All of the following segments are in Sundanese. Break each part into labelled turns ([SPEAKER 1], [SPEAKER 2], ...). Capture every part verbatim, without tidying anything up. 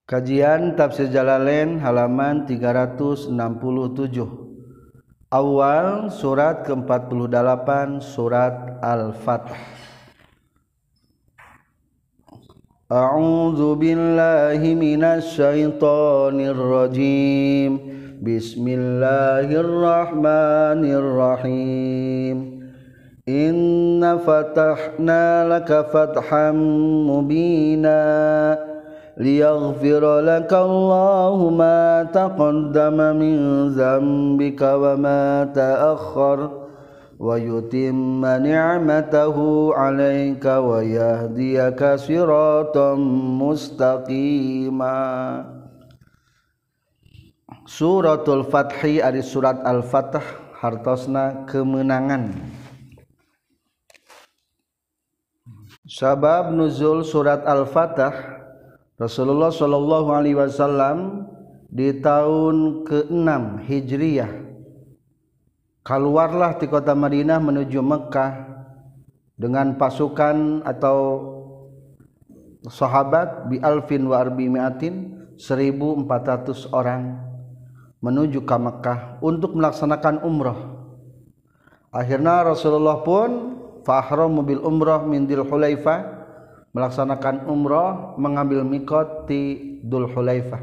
[SPEAKER 1] Kajian Tafsir Jalalain halaman tiga ratus enam puluh tujuh. Awal surat ke empat puluh delapan surat Al-Fath. A'udzu billahi minasy syaithanir rajim. Bismillahirrahmanirrahim. Inna fatahna laka fatham mubina liyaghfir laka Allahu ma taqaddama min dzambika wa ma ta'akhkhar wa yutimma ni'matahu 'alaika wa yahdiyaka siratan mustaqima. Suratul Fathi ari surat Al-Fath hartosna kemenangan. Sabab nuzul surat Al-Fath, Rasulullah Shallallahu Alaihi Wasallam di tahun keenam Hijriyah keluarlah di kota Madinah menuju Mekkah dengan pasukan atau sahabat bi alfin wa arbimiatin seribu empat ratus orang menuju ke Mekkah untuk melaksanakan umrah. Akhirnya Rasulullah pun fahramu bil umrah min Dzul Hulaifah, melaksanakan umrah mengambil mikot di Dzul Hulaifah.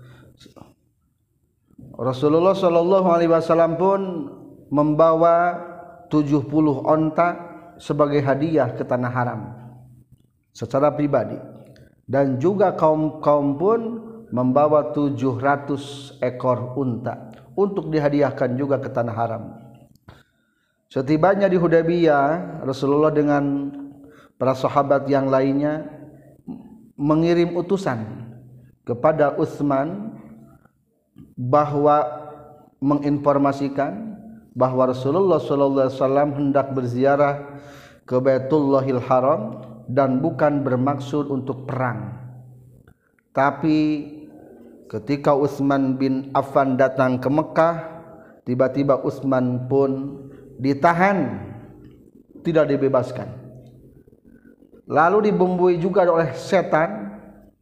[SPEAKER 1] Rasulullah Shallallahu Alaihi Wasallam pun membawa tujuh puluh onta sebagai hadiah ke tanah haram secara pribadi, dan juga kaum-kaum pun membawa tujuh ratus ekor unta untuk dihadiahkan juga ke tanah haram. Setibanya di Hudaybiyah, Rasulullah dengan para sahabat yang lainnya mengirim utusan kepada Utsman bahwa menginformasikan bahwa Rasulullah sallallahu alaihi wasallam hendak berziarah ke Baitullahil Haram dan bukan bermaksud untuk perang. Tapi ketika Utsman bin Affan datang ke Mekah, tiba-tiba Utsman pun ditahan, tidak dibebaskan. Lalu dibumbui juga oleh setan,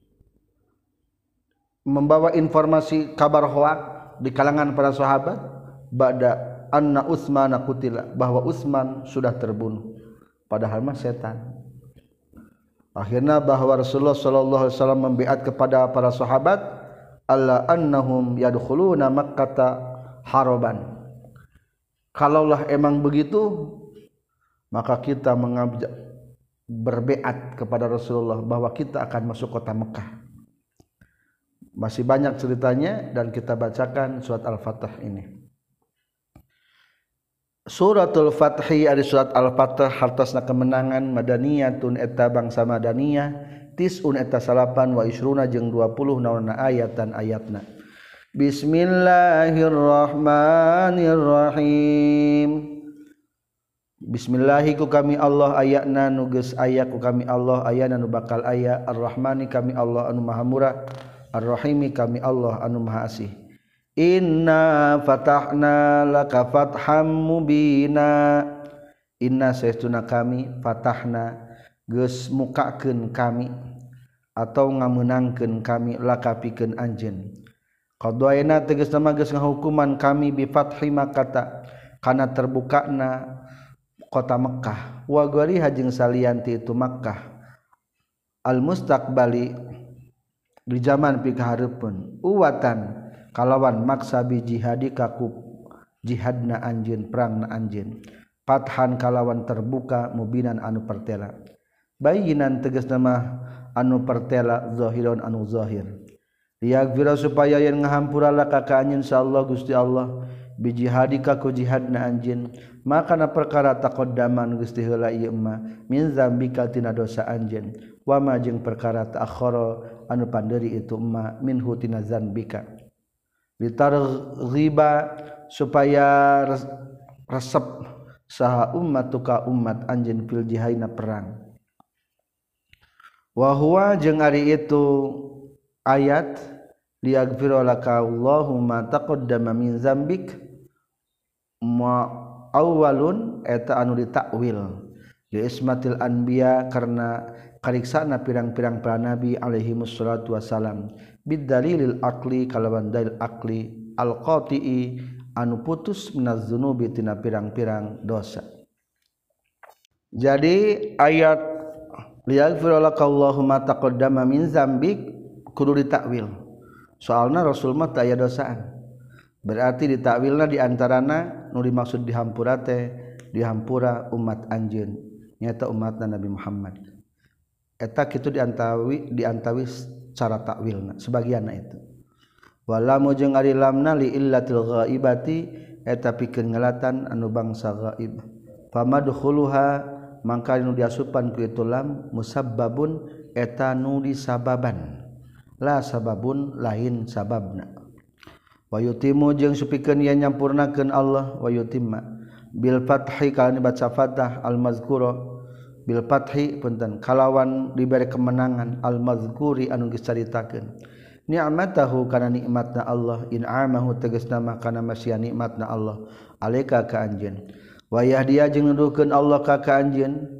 [SPEAKER 1] membawa informasi kabar hoak di kalangan para sahabat ba'da anna Utsman qutila, bahwa Utsman sudah terbunuh, padahal mah setan. Akhirnya bahwa Rasulullah sallallahu alaihi wasallam membiat kepada para sahabat alla annahum yadkhuluna Makkah haraban. Kalaulah emang begitu, maka kita mengajak berbeat kepada Rasulullah bahwa kita akan masuk kota Mekah. Masih banyak ceritanya dan kita bacakan surat Al-Fath ini. Suratul Fathi ari surat Al-Fath hartosna kemenangan madaniyatun eta bangsa madaniyah tisun eta salapan wa isruna jeung dua puluh naonna ayatan ayatna. Bismillahirrahmanirrahim. Bismillahi ku kami Allah ayatna nu geus aya ku kami Allah ayana nu bakal aya Ar-Rahmani kami Allah anu maha murah Ar-Rahimi kami Allah anu maha asih. Inna fatahna laka fatham mubina. Inna saestuna kami fatahna geus mukakeun kami atau ngameunangkeun kami laka pikeun anjeun. Qadaina tegasna mah geus ngahukuman kami bi fathi Makkah kana terbukana kota Mekkah wa gari hajeng salianti itu Mekkah al mustaqbali di zaman pikahareupeun uwatan kalawan maksa bi jihadika ku jihadna anjeun perangna anjeun fathan kalawan terbuka mubinan anu pertela bayinan tegasna mah anu pertela zahiron anu zahir liyaghfira supaya yen ngahampura laka ka anjeun insyaallah Gusti Allah bi jihadika ku jihadna anjeun makana perkara taqaddaman Gusti heula ieu mah min zambika tina dosa anjeun wa ma jeung perkara ta'akhkhara anu pandeuri itu mah minhu tina zambika litarghiba supaya resep saha ummatuka umat anjeun fil jihadina perang wa huwa jeung ari itu ayat liyaghfira laka Allahu ma taqaddama min zambik ma awalun eta anu ditakwil li ismatil anbiya karena kariksana pirang-pirang para nabi alaihi wassalatu wassalam bidalilil aqli kalawan dalil aqli al-qati'i anu putus minaz dzunubi tina pirang-pirang dosa. Jadi ayat liyaghfir lakallahu ma taqaddama min dzambik kudu ditakwil. Soalna Rasul mah teu aya dosaan. Berarti ditakwilna diantarana nu dimaksud dihampura teh dihampura umat anjeun nyata umatna Nabi Muhammad. Eta kitu diantawi diantawi cara takwilna sebagianna itu. Walamu jeung ari lamna li illatil ghaibati eta pikeun ngalatan anu bangsa ghaib. Famadkhuluha mangka nu diasupan ku itu lam musabbabun eta nu disababan la sababun lain sababna wa yutimu jeung supikeun yen nyampurnakeun Allah wa yutimma bil fathi kana baca fathah al mazkura bil fathi punten kalawan diberi kemenangan al mazkuri anu geus caritakeun ni'matahu kana nikmatna Allah in'amahu tegasna mah kana masya nikmatna Allah alaika ka anjeun wa yahdiya jeung nuduhkeun Allah ka ka anjeun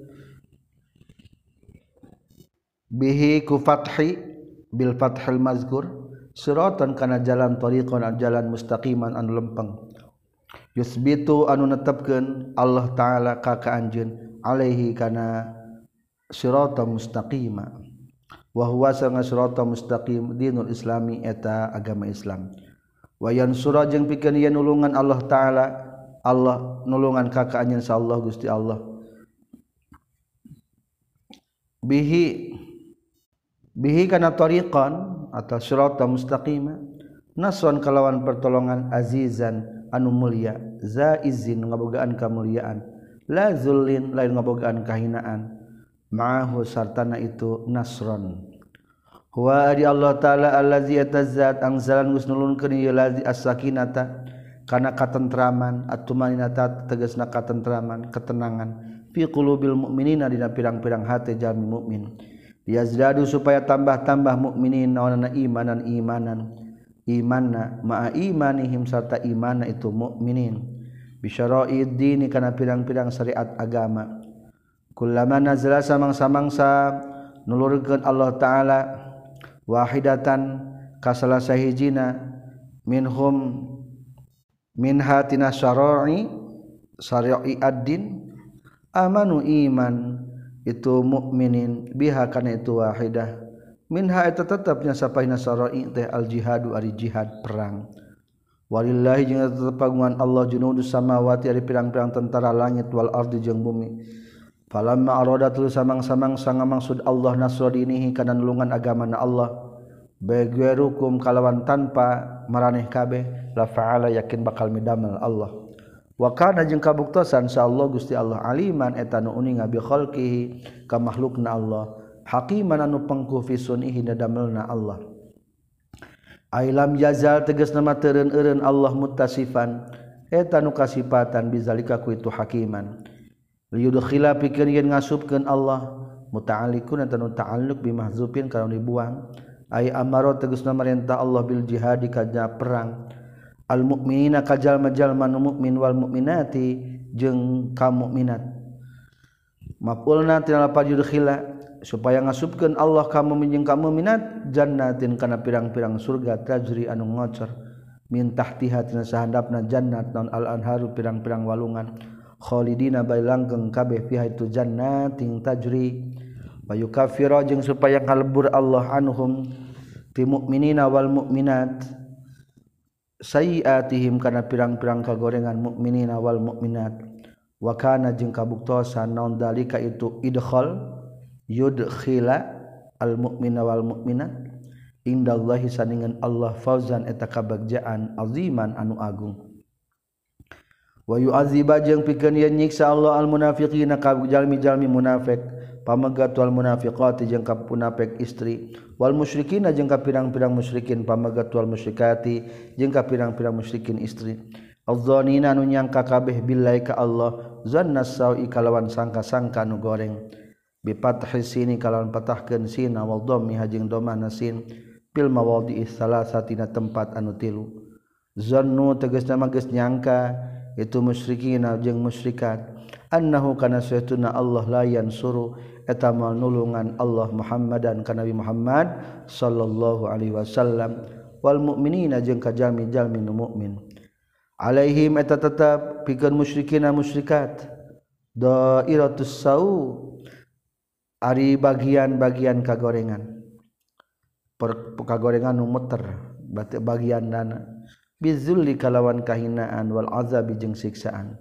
[SPEAKER 1] bihi ku fathi bil fathil mazkur siratan kana jalan tariqan jalan mustaqiman anu lempeng yusbitu anu netepkeun Allah taala ka ka anjeun alaihi kana siratan mustaqima wa huwa sanga siratan mustaqim dinul islami eta agama Islam wa yansura jeung pikeun yen nulungan Allah taala Allah nulungan ka ka anjeun insyaallah Gusti Allah bihi bihi kana tariqan atau siratan mustaqima nasron kalawan pertolongan azizan anu mulia zaizin ngabogaan kamuliaan la zullin lain ngabogaan kahinaan ma'ahu sartana itu nasron huwa di Allah taala allazi atazzat angzalan gusnulunkeun ieu lazi as-sakinata kana katentraman at-tumaninata tegasna katentraman ketenangan fi qulubil mu'minina dina pirang-pirang hate jalmi mukmin yazdadu supaya tambah-tambah mukminin naonana imanan imanan imanna ma'a imanihim sarta imanna itu mukminin bisyara'id dini kana pirang-pirang syariat agama kullama nazala samang-samangsa nulurkeun Allah taala wahidatan kasalah sahijina minhum min hatina syara'i syara'i ad-din amanu iman itu mukminin biha kana itu wahidah minha eta tetepnya sapaina syara'i teh al jihadu ari jihad perang walillahi jeung tetep pagungan Allah junudus samawati ari pirang-pirang tentara langit wal ardi jeung bumi falamma aradatul samang-samang sanga maksud Allah nasra dinihi kana nulungan agamana Allah bagairukum kalawan tanpa maraneh kabeh la fa'ala yakin bakal midamel Allah wa kana jeung kabuktosan insyaallah Gusti Allah aliman eta nu uning bi khalqihi ka makhlukna Allah hakiman anu pengku fi sunihi damelna Allah ailam yazal tegasna mah teureun-eureun Allah muttasifan eta nu kasifatan bizalika ku itu hakiman liyudkhila pikeun yen ngasupkeun Allah muta'alliqun eta nu ta'alluq bi mahzufin kana dibuang ay amaro tegasna marentah Allah bil jihad kana perang al mukminina kajal-jalma nu mukmin wal mukminati jeung kaum mukminat maf'ulna tina lafaz yudkhila supaya ngasupkeun Allah kaum mukmin jeung kaum mukminat jannatin kana pirang-pirang surga tajri anu ngocor min tahtiha tina sahandapna jannat naun al anharu pirang-pirang walungan khalidina bae langgeng kabeh fiha itu jannatin tajri wa yukaffiru jeung supaya ngalebur Allah anhum ti mukminina wal mukminat sayiatihim kana pirang-pirang kagorengan mukminina wal mukminat wa kana jeung kabuktosan naon dalika itu idkhal yudkhila al mukmina wal mukminat indallahi saningan Allah fauzan eta kabagjaan aziman anu agung wa yu'adziba jeung pikeun yen nyiksa Allah al munafiqina ka jalmi-jalmi munafik pamagat wal munafiqati jeung ka munafik istri wal musyrikina jeung ka pirang-pirang musyrikin pamagat wal musyrikati jeung ka pirang-pirang musyrikin istri azzanina anu nyangka kabeh billahi ka Allah zanna sawi kalawan sangka-sangka nu goreng bi fathi sini kalawan patahkeun sin wal dhammi jeung dhamana sin fil mawadhi'i salasatina tempat anu tilu zannu tegasna mah geus nyangka itu musyrikina jeung musyrikat annahu kana saytuna Allah la yansuru eta mal nulungan Allah Muhammadan ka Nabi Muhammad sallallahu alaihi wasallam wal mukminina jeung ka jalmi-jalmi nu mukmin alaihim eta tetep pikeun musyrikina musyrikat dairatus sau ari bagian-bagian kagorengan per kagorengan nu muter bagian dana bizulli kalawan kahinaan wal azabi jeung siksaan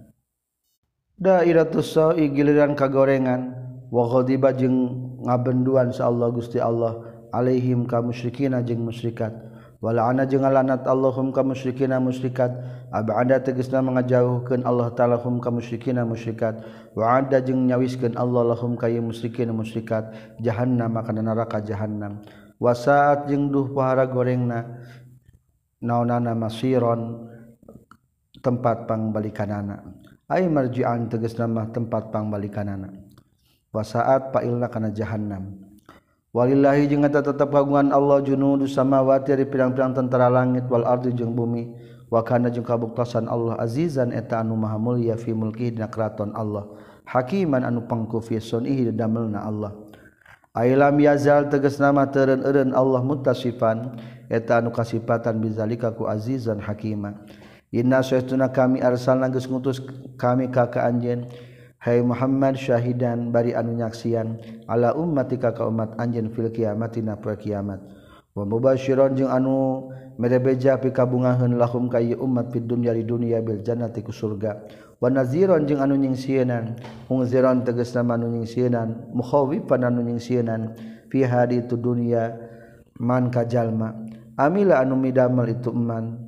[SPEAKER 1] dairatus sau giliran kagorengan wa ghadiba jeung ngabenduan sa Allah Gusti Allah alaihim ka musyrikina jeung musyrikat wala ana jeung lanat Allahum ka musyrikina musyrikat abada tegasna mangajauhkeun Allah taala hum ka musyrikina musyrikat wa ada jeung nyawiskeun Allah lahum ka musyrikina musyrikat jahannam kana neraka jahannam wasaat jeung duh pahara gorengna naonana masiron tempat pangbalikanana ay marji'an tegasna mah tempat pangbalikanana wasaat pailna kana jahannam walillahi jeung eta tetep kagungan Allah junudus samawati ari pirang-pirang tentara langit wal ardi jeung bumi wa kana jeung kabuktosan Allah azizan eta anu maha mulya fi mulki dina kraton Allah hakiman anu pangku fi sunihi damelna Allah ailam yazal tegasna mah teureun-eureun Allah muttasifan eta anu kasifatan bizalika ku azizan hakima inna saytuna kami arsalna geus ngutus kami ka ka anjeun hai Muhammad syahidan bari anu nyaksian ala ummatika ka umat anjeun fil kiamatina poe kiamat wa mubasyiran jeung anu merebeja pikabungaheun lahum ka ieu ummat fid dunya di dunya bil jannati ku surga wa naziran jeung anu nyingsienan mungziran tegasna anu nyingsienan mukhawifan anu nyingsienan fi hadi tu dunya man ka jalma amila anu midamel itu man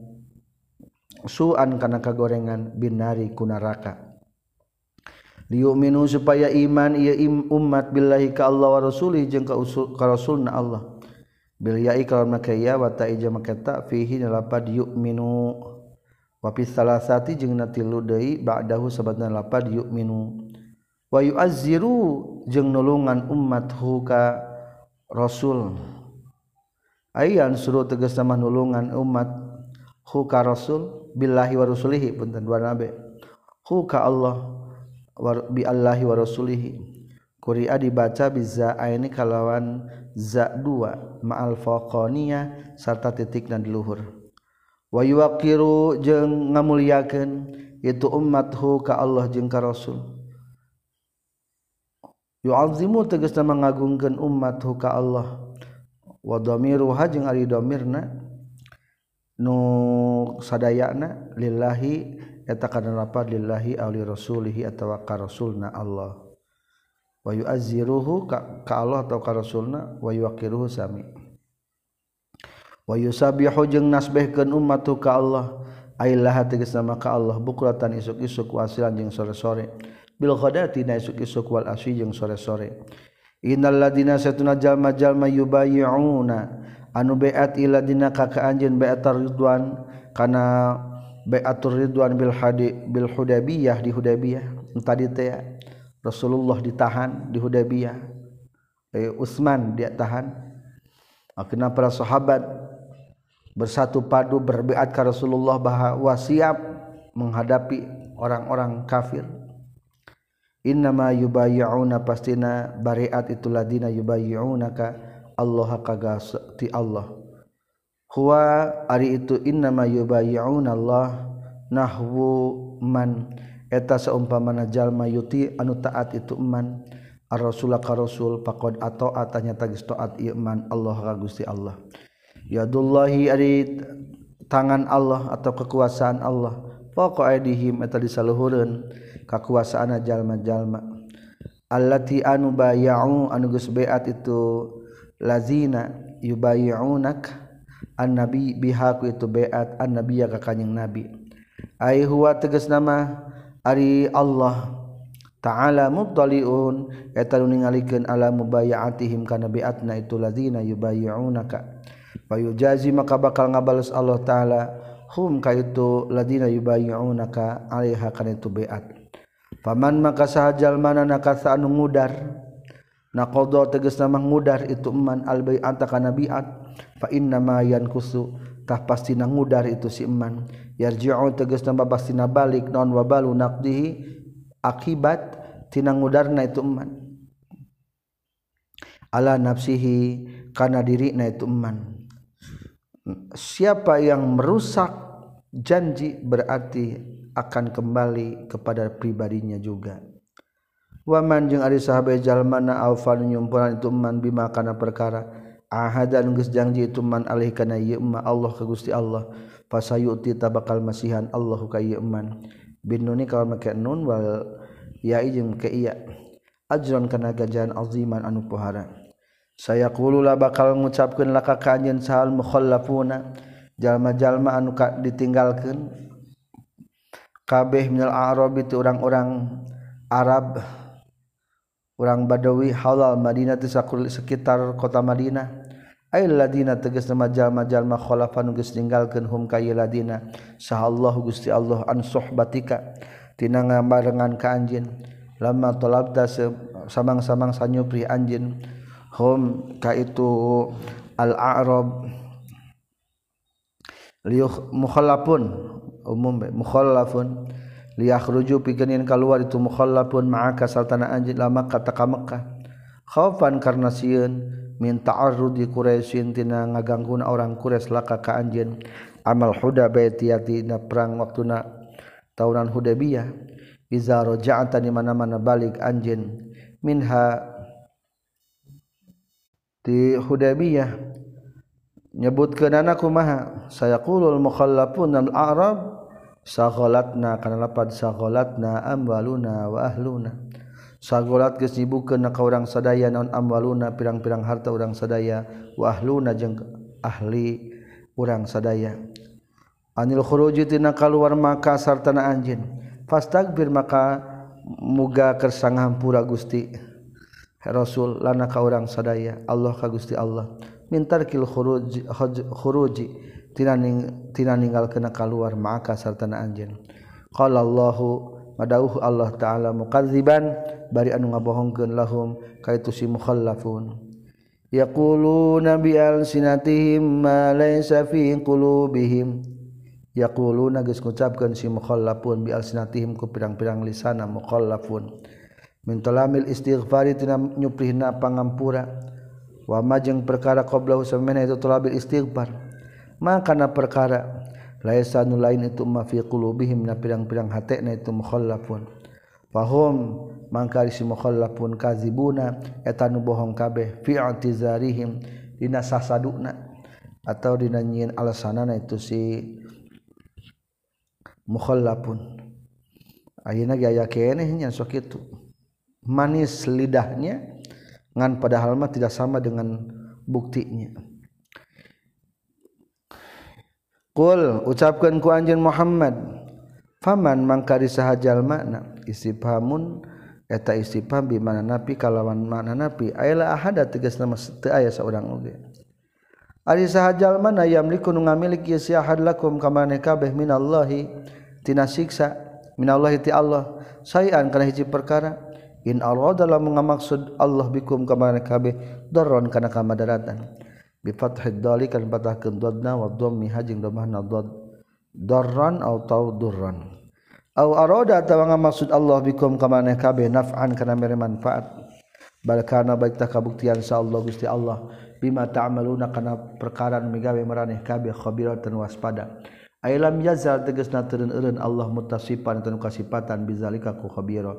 [SPEAKER 1] suan kana kagorengan binari ku neraka liyu'minu supaya iman ieu umat billahi ka Allah wa rasulih jeung ka ka rasulna Allah bil ya'i kalawan make ya wa ta'ija make ta fihi lapad yu'minu wa fi salasati jeung na tilu deui ba'dahu sabatna lapad yu'minu wa yu'azziru jeung nulungan umat hu ka rasul ayan suruh tegasna mah nulungan umat hu ka rasul billahi wa rasulihi punten dua nabe hu ka Allah bi Allahi wa rasulihi quri'a dibaca biza aini kalawan za dua ma'al faqaniyah sarta titikna di luhur wa yuqiru jeung ngamulyakeun itu ummathu ka Allah jeung ka rasul yu'azzimu tegasna mangagungkeun ummathu ka Allah wa dhamiruha jeung ari dhamirna nu sadayana lillahi eta kana lapad lillahi aw li rasulihi atawa ka rasulna Allah wa yu'azziruhu ka, ka Allah atau ka rasulna wa yuqiruhu sami wa yusabihu jeung nasbihkeun ummatu ka Allah ailah tegasna ka Allah bukratan isuk-isuk wasilan jeung sore-sore bil ghadati na isuk-isuk wal asyi jeung sore-sore innal ladina satuna jalma-jalma yubayyi'una anu bai'at ila dina ka ka anjeun bai'atar ridwan kana bai'atur ridwan bil hadi bil Hudaybiyah di Hudaybiyah tadi teh Rasulullah ditahan di Hudaybiyah eh, Utsman dia tahan akhirnya para sahabat bersatu padu berbaiat ke Rasulullah bahwa siap menghadapi orang-orang kafir innama yubayyi'una pastina bariat itu ladina yubayyi'unaka Allah kagati Allah huwa ari itu innama yubayyi'una Allah nahwu man eta saumpamana jalma yuti anu taat itu man ar-rasul ka rasul faqad ataat nyata geus taat ieu man Allah ka Gusti Allah yadullahi ari tangan Allah atau kekuasaan Allah faqa aidihim eta disaluhureun kakuasaana jalma-jalma allati anu bay'u anu geus baiat itu lazina yubayyi'unak an-nabi bihaku itu baiat an-nabiyya ka kanjing nabi ai huwa tegasna mah ari Allah ta'ala muttaliun eta nu ningalikeun ala mubayatihim kana baiatna itu ladzina yubayyi'unaka wa yujazi maka bakal ngabales Allah taala hum ka itu ladzina yubayyi'unaka alaiha kana itu baiat faman maka sahajal manana kasa anu ngudar naqadha tegasna mah ngudar itu man al bai'ata kana baiat fa inna ma yankusu tah pastina ngudar itu si man yarji'u tegasna babastina balik naon wabalu naqdihi akibat tina ngudarna itu man ala nafsihi kana dirina itu man. Siapa yang merusak janji berarti akan kembali kepada pribadinya juga. Waman jeung ari sahabat jalmana aufan nyumpuran itu man bima kana perkara ahadan geus janji itu man alih kana ieu ma Allah ka Gusti Allah fasayuti tabakal masihan Allahu ka ieu man binuni kalau make nun wal ya jeung ke iya ajron kana ganjaran aziman anu pohara saya qulula bakal ngucapkeun laka ka anjeun sahal mukhallafuna jalma-jalma anu ditinggalkeun kabeh minal a'rab itu orang-orang Arab orang Badawi halal Madinah ti sekitar kota Madinah ay ladina tegas nama jalma-jalma khalafan geus ninggalkeun hum ka ieu ladina sahallahu Gusti Allah an suhbatika tina ngabarengan ka anjeun lamma talabta samang-samang sanyupri anjeun hum ka itu al-a'rab liyukh mukhallafun umum mukhallafun liyakhruju pikeun kaluar itu mukhallafun ma'aka saltana anjeun lama kata ka Mekkah khaufan karna sieun min ta'arrudi Quraisyin tina ngagangguna orang Quraisy laka ka anjeun amal Hudaybiyah tina perang waktuna tahunan Hudaybiyah iza raja'ta di mana-mana balik anjeun minha di Hudaybiyah nyebutkeunana kumaha sayaqulul mukhallafun al-a'rab saghalatna kana lapad saghalatna amwaluna wa ahluna sagolat geus nyibukkeun ka urang sadaya naon amwaluna pirang-pirang harta urang sadaya wa ahluna jeung ahli urang sadaya anil khuruji tina kaluar maka sartana anjeun fastagfir maka muga kersang hampura Gusti Rasul lana ka urang sadaya Allah ka Gusti Allah mintarkil khuruji khuruji tina ning tina ninggalkeun kaluar maka sartana anjeun qala Allahu madauh Allah taala mukadziban bari anu ngabohongkeun lahum kaitu si mukhallafun yaquluna bi alsinatihim ma laysa fi qulubihim yaquluna geus ngucapkeun si mukhallafun bi alsinatihim ku pirang-pirang lisana mukhallafun min talamil istighfari tina nyuprihna pangampura wa majeng perkara qablahu samana itu talabil istighfar maka na perkara laisa nu lain itu ma fi qulubihim na pirang-pirang hatena itu mukhallafun fahum mangka si mukhallafun kadzibuna eta nu bohong kabeh fi i'tizarihim dina sasaduna atau dina nyieun alasanana itu si mukhallafun ayeuna ge aya keneh nya sok kitu manis lidahnya ngan padahal mah tidak sama dengan buktinya. Qul ucapkeun ku anjeun Muhammad faman mangkari saha jalmana istifhamun eta istifham bi mana napi kalawan mana napi aya ahada tegasna teu aya saurang oge ari saha jalmana yamliku nu ngamiliki si ahad lakum kamane kabeh minallahi tina siksa minallahi ti Allah sayan kana hiji perkara in arada lamun ngamaksud Allah bikum kamane kabeh darron kana kamadaratan bi fathid dali kan patahkeun dadna wa dhammi hajing dhammahna dad darran atau durran au arada atawa ngamaksud Allah bikum kamane kabeh naf'an kana mere manfaat bal kana baik ta kabuktian sa Allah Gusti Allah bima ta'maluna kana perkara nu migawe maraneh kabeh khabiratan waspada ailam yazal tegasna teureun eureun Allah mutasifan tanu kasifatan bizalika ku khabira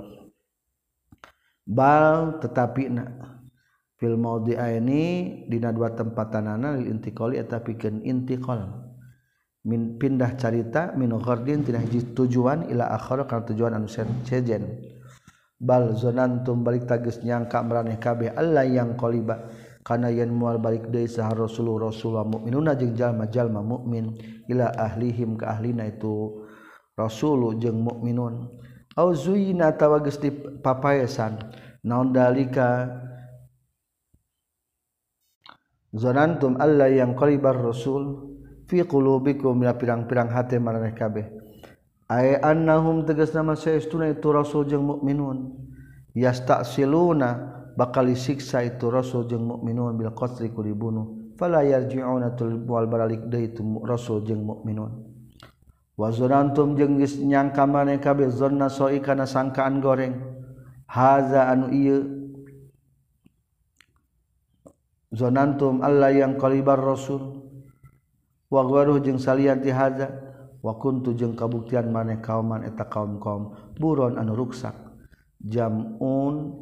[SPEAKER 1] bal tetapina fil maudhi'aini dina dua tempatanana lil intiqali eta pikeun intiqal min pindah carita min ghardin tina hiji tujuan ila akhir kana tujuan anu sejen bal zonantum balik tagis nyangka maraneh kabeh Allah yang qaliba kana yen moal balik deui saha rasul rasulullah mukminuna jeung jalma-jalma mukmin ila ahlihim ka ahlina itu rasul jeung mukminun au zuyina tawa geus dipapaesan naon dalika zanantum alla yang qalibar rasul fi qulubikum min pirang-pirang hate maraneh kabeh ay annahum tegasna saestuna itu rasul jeung mukminun yasta'siluna bakal disiksa itu rasul jeung mukminun bil qatri ku dibunuh fala yarji'una tul wal baralik deui itu rasul jeung mukminun wa zanantum jeung geus nyangka maneh kabeh zanna soi kana sangkaan goreng haza anu ieu zonantum alla yang qalibar rasul wa gharuh jeung salian ti hadza wa kuntu jeung kabuktian maneh kauman eta kaum-kaum buron anu ruksak jamun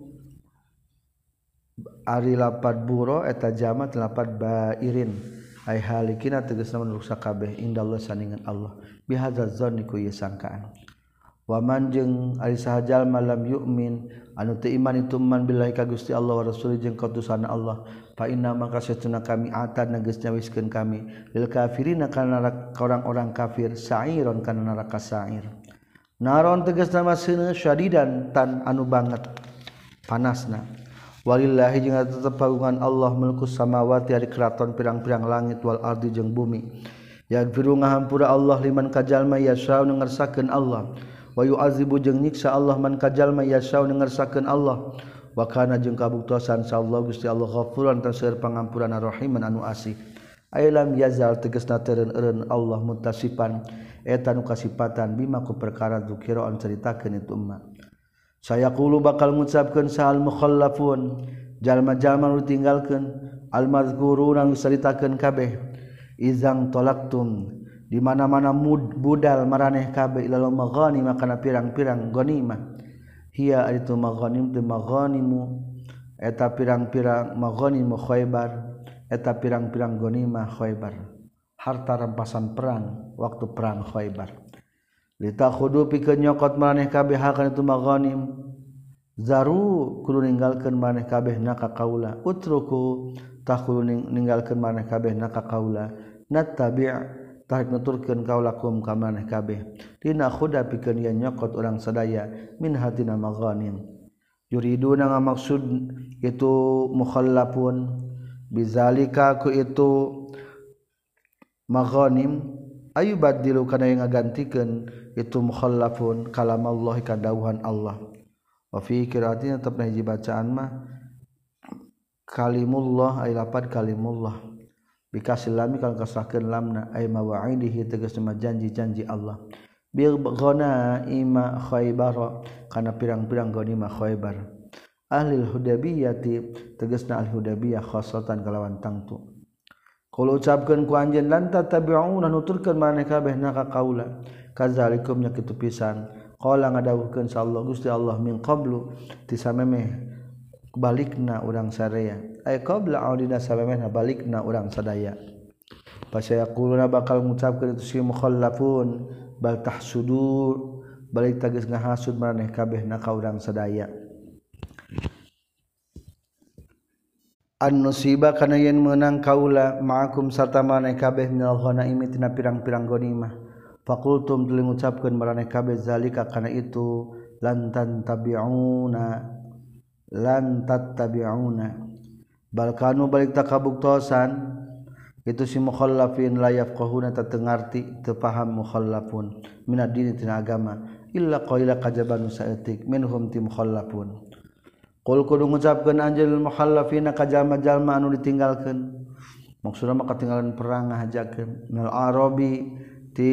[SPEAKER 1] ari lapad buro eta jamat lapad bairin ai halikina tegasna ruksak kabeh indallah saningan Allah bihadza zanni ku ieu sangkaan waman jeung ari sahajal malam yu'min anu teu iman itu man billahi ka Gusti Allah wa rasul jeung kautusan Allah fa inna maka satuna kami atan geus nyawiskeun kami lil kafirina kana orang-orang kafir sa'iron kana neraka sa'ir naron tegasna maseuneun syadidan tan anu banget panasna walillahi jeung tetep pagungan Allah mulkus samawati ari keraton pirang-pirang langit wal ardi jeung bumi yaghfiru ngahampura Allah liman kajalma yasha nu ngarsakeun Allah wa yu'adzibu jeung nyiksa Allah man kajalma yasha nu ngarsakeun Allah wa kana jeung kabuktosan sallallahu Gusti Allah ghafuran tasir pangampuran rahiman anu asih ailam yazal tegasna teureun-eureun Allah mutasifan eta nu kasipatan bima ku perkara dzikira an caritakeun itu umma saya qulu bakal ngucapkeun sahal mukhallafun jalma-jalma nu tinggalkeun al mazkuruna nu caritakeun kabeh izang tolaktum di mana-mana mud budal maraneh kabeh ilal maghanim kana pirang-pirang ghanimah hiya itu maghanim tu maghanimu eta pirang-pirang maghanimu Khaibar eta pirang-pirang ghanimah Khaibar harta rampasan perang waktu perang Khaibar litakhudu pikeun nyokot maraneh kabeh kana itu maghanim zaru kudu ninggalkeun maraneh kabeh naka kaula utruku tah kudu ninggalkeun maraneh kabeh naka kaula nattabi' tarik nuturkeun kaulakum ka maneh kabeh dina khuda pikeun yen nyokot urang sadaya min hatina maghanim yuriduna ngamaksud itu mukhallafun bizalika ku itu maghanim ayubadilu kana yang ngagantikeun itu mukhallafun kalam Allah ka dawuhan Allah wa fi qiraatin tetep hiji bacaan mah kalimullah ay lapad kalimullah bikasil lami kalau kasahkeun lamna ay mawa'idihi tegasna janji-janji Allah bil ghanaima Khaibar kana pirang-pirang ghanimah Khaibar ahli Hudaybiyati tegasna al Hudaybiyah khassatan kalawan tangtu kalau ucapkeun ku anjeun lan tatabi'una nuturkeun maneh kabeh naka qaula kadzalikum nya kitu pisan qala ngadawuhkeun sallallahu Gusti Allah min qablu ti samemeh balikna urang sadaya ay qabla audina samemehna balikna urang sadaya pasaya quluna bakal ngucapkeun itu si mukhallafun bal tahsudur balik tagis ngahasud maraneh kabeh na ka urang sadaya an nusiba kana yen meunang kaula ma'akum sarta maraneh kabeh minal ghanaimi tina pirang-pirang ghanimah faqultum tuluy ngucapkeun maraneh kabeh zalika kana itu lantan tabi'una lan tattabi'una bal kanu balik takabuktosan itu si mukhallafin la yafqahuna tatengarti teu paham mukhallafun minad dini tina agama illa qaila kajaban saeutik minhum ti mukhallafun qul kudu ngucapkeun anjeul mukhallafina ka jalma-jalma anu ditinggalkeun maksudna mah katinggalan perang ngahajakeun minal arabi ti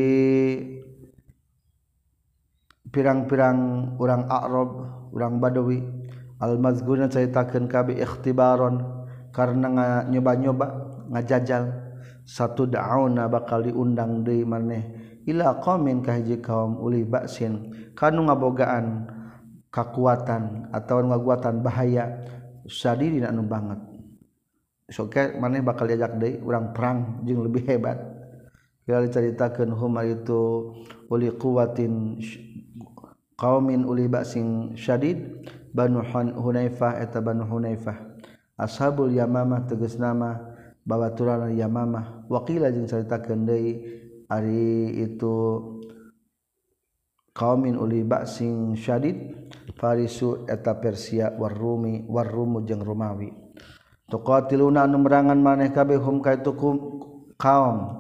[SPEAKER 1] pirang-pirang urang Arab urang Badawi al-mazguna caritakeun kabeh ikhtibaron karena nyoba-nyoba ngajajal satu da'una bakal diundang deui maneh ila qaumin ka hiji kaum uli ba'sin kanu ngabogaan kakuatan atau ngaguatan bahaya sadidin anu banget sok maneh bakal diajak deui urang perang jeung lebih hebat kira dicaritakeun hum itu uli quwatin qaumin uli ba'sin syadid Banu Hunaifah eta Banu Hunaifah ashabul yamamah tegasna mah babaturan yamamah waqila jeung caritakeun deui ari itu qaumin uli ba'sin syadid farisu eta Persia war Rumi war Rumu jeung Romawi tuqatiluna anu merangan maneh kabeh hum kaitu kaum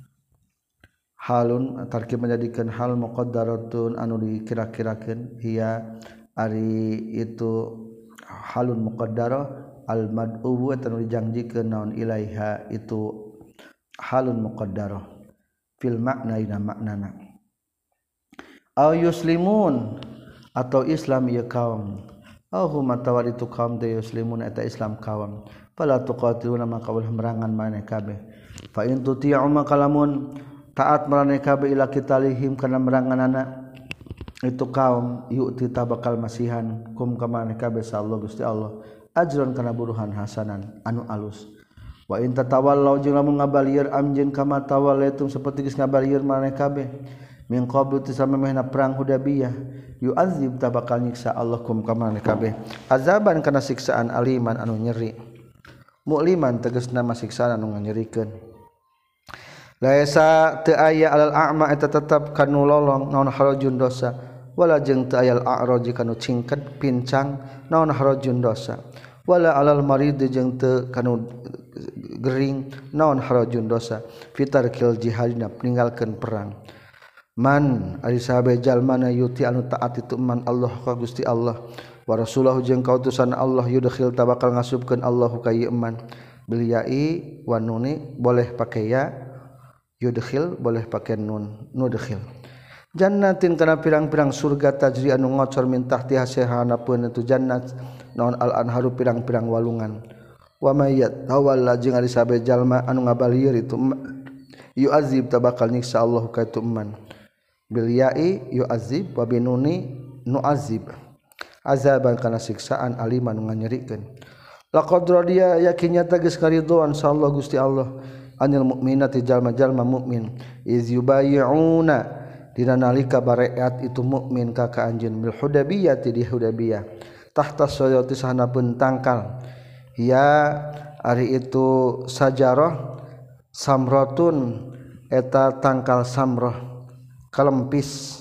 [SPEAKER 1] halun tarkib menjadikan hal muqaddaratun anu dikira-kirakeun hiya ari itu halun muqaddarah al mad'u wa tanu dijanjikeun naon ilaiha itu halun muqaddarah fil makna ina maknana aw yuslimun atau Islam ieu kaum aw hum atawar itu kaum teh yuslimun eta Islam kaum fala tuqatiluna maka ulah merangan maneh kabeh fa in tuti'u maka lamun taat maneh kabeh ila kitalihim kana meranganana itu kaum yu'ti tabakal masihan kum ka maneh kabeh sallallahu Gusti Allah ajron kana buruhan hasanan anu alus wa in tatawallaw jeung lamun ngabalieur amjeun kama tawallaitum saperti geus ngabalieur maneh kabeh min qablu tisamemehna perang Hudaybiyah yu'adzib tabakal nyiksa Allah kum ka maneh kabeh azaban kana siksaan aliman anu nyeri mu'liman tegasna masiksaan anu nyerikeun laisa teu aya alal a'ma eta tetep kanu lolong naon harajun dosa wala jeung teu aya al a'raji kanu cingket pincang naon harajun dosa wala alal marid jeung teu kanu gering naon harajun dosa fitarkil jihadina ninggalkeun perang man ari sahabe jalmana yuti anu taat itu man Allah ka Gusti Allah wa rasulahu jeung kautusan Allah yudkhil tabakal ngasupkeun Allahu ka ieu man bil ya'i wa nuni boleh pake ya yudkhil boleh pakai nun nudkhil jannatin kana pirang-pirang surga tajri anu ngocor min tahtiha sehanapeun itu jannat naon al anharu pirang-pirang walungan wa mayyat tawalla jeung ari sabe jalma anu ngabalieur itu yu'azib tabakal nyiksa Allah ka itu man bil ya'i yu'azib wa binuni nu'azib azaban kana siksaan aliman nu nganyerikeun laqad radiya yakinnya tegas karidhoan sallallahu Gusti Allah anil mukminati jalma-jalma mukmin iz yubayyi'una dina nalika bareat itu mukmin ka ka anjeun bil Hudaybiyah di Hudaybiyah tahta sayati sahanapeun tangkal ya ari itu sajarah samratun eta tangkal samrah kalempis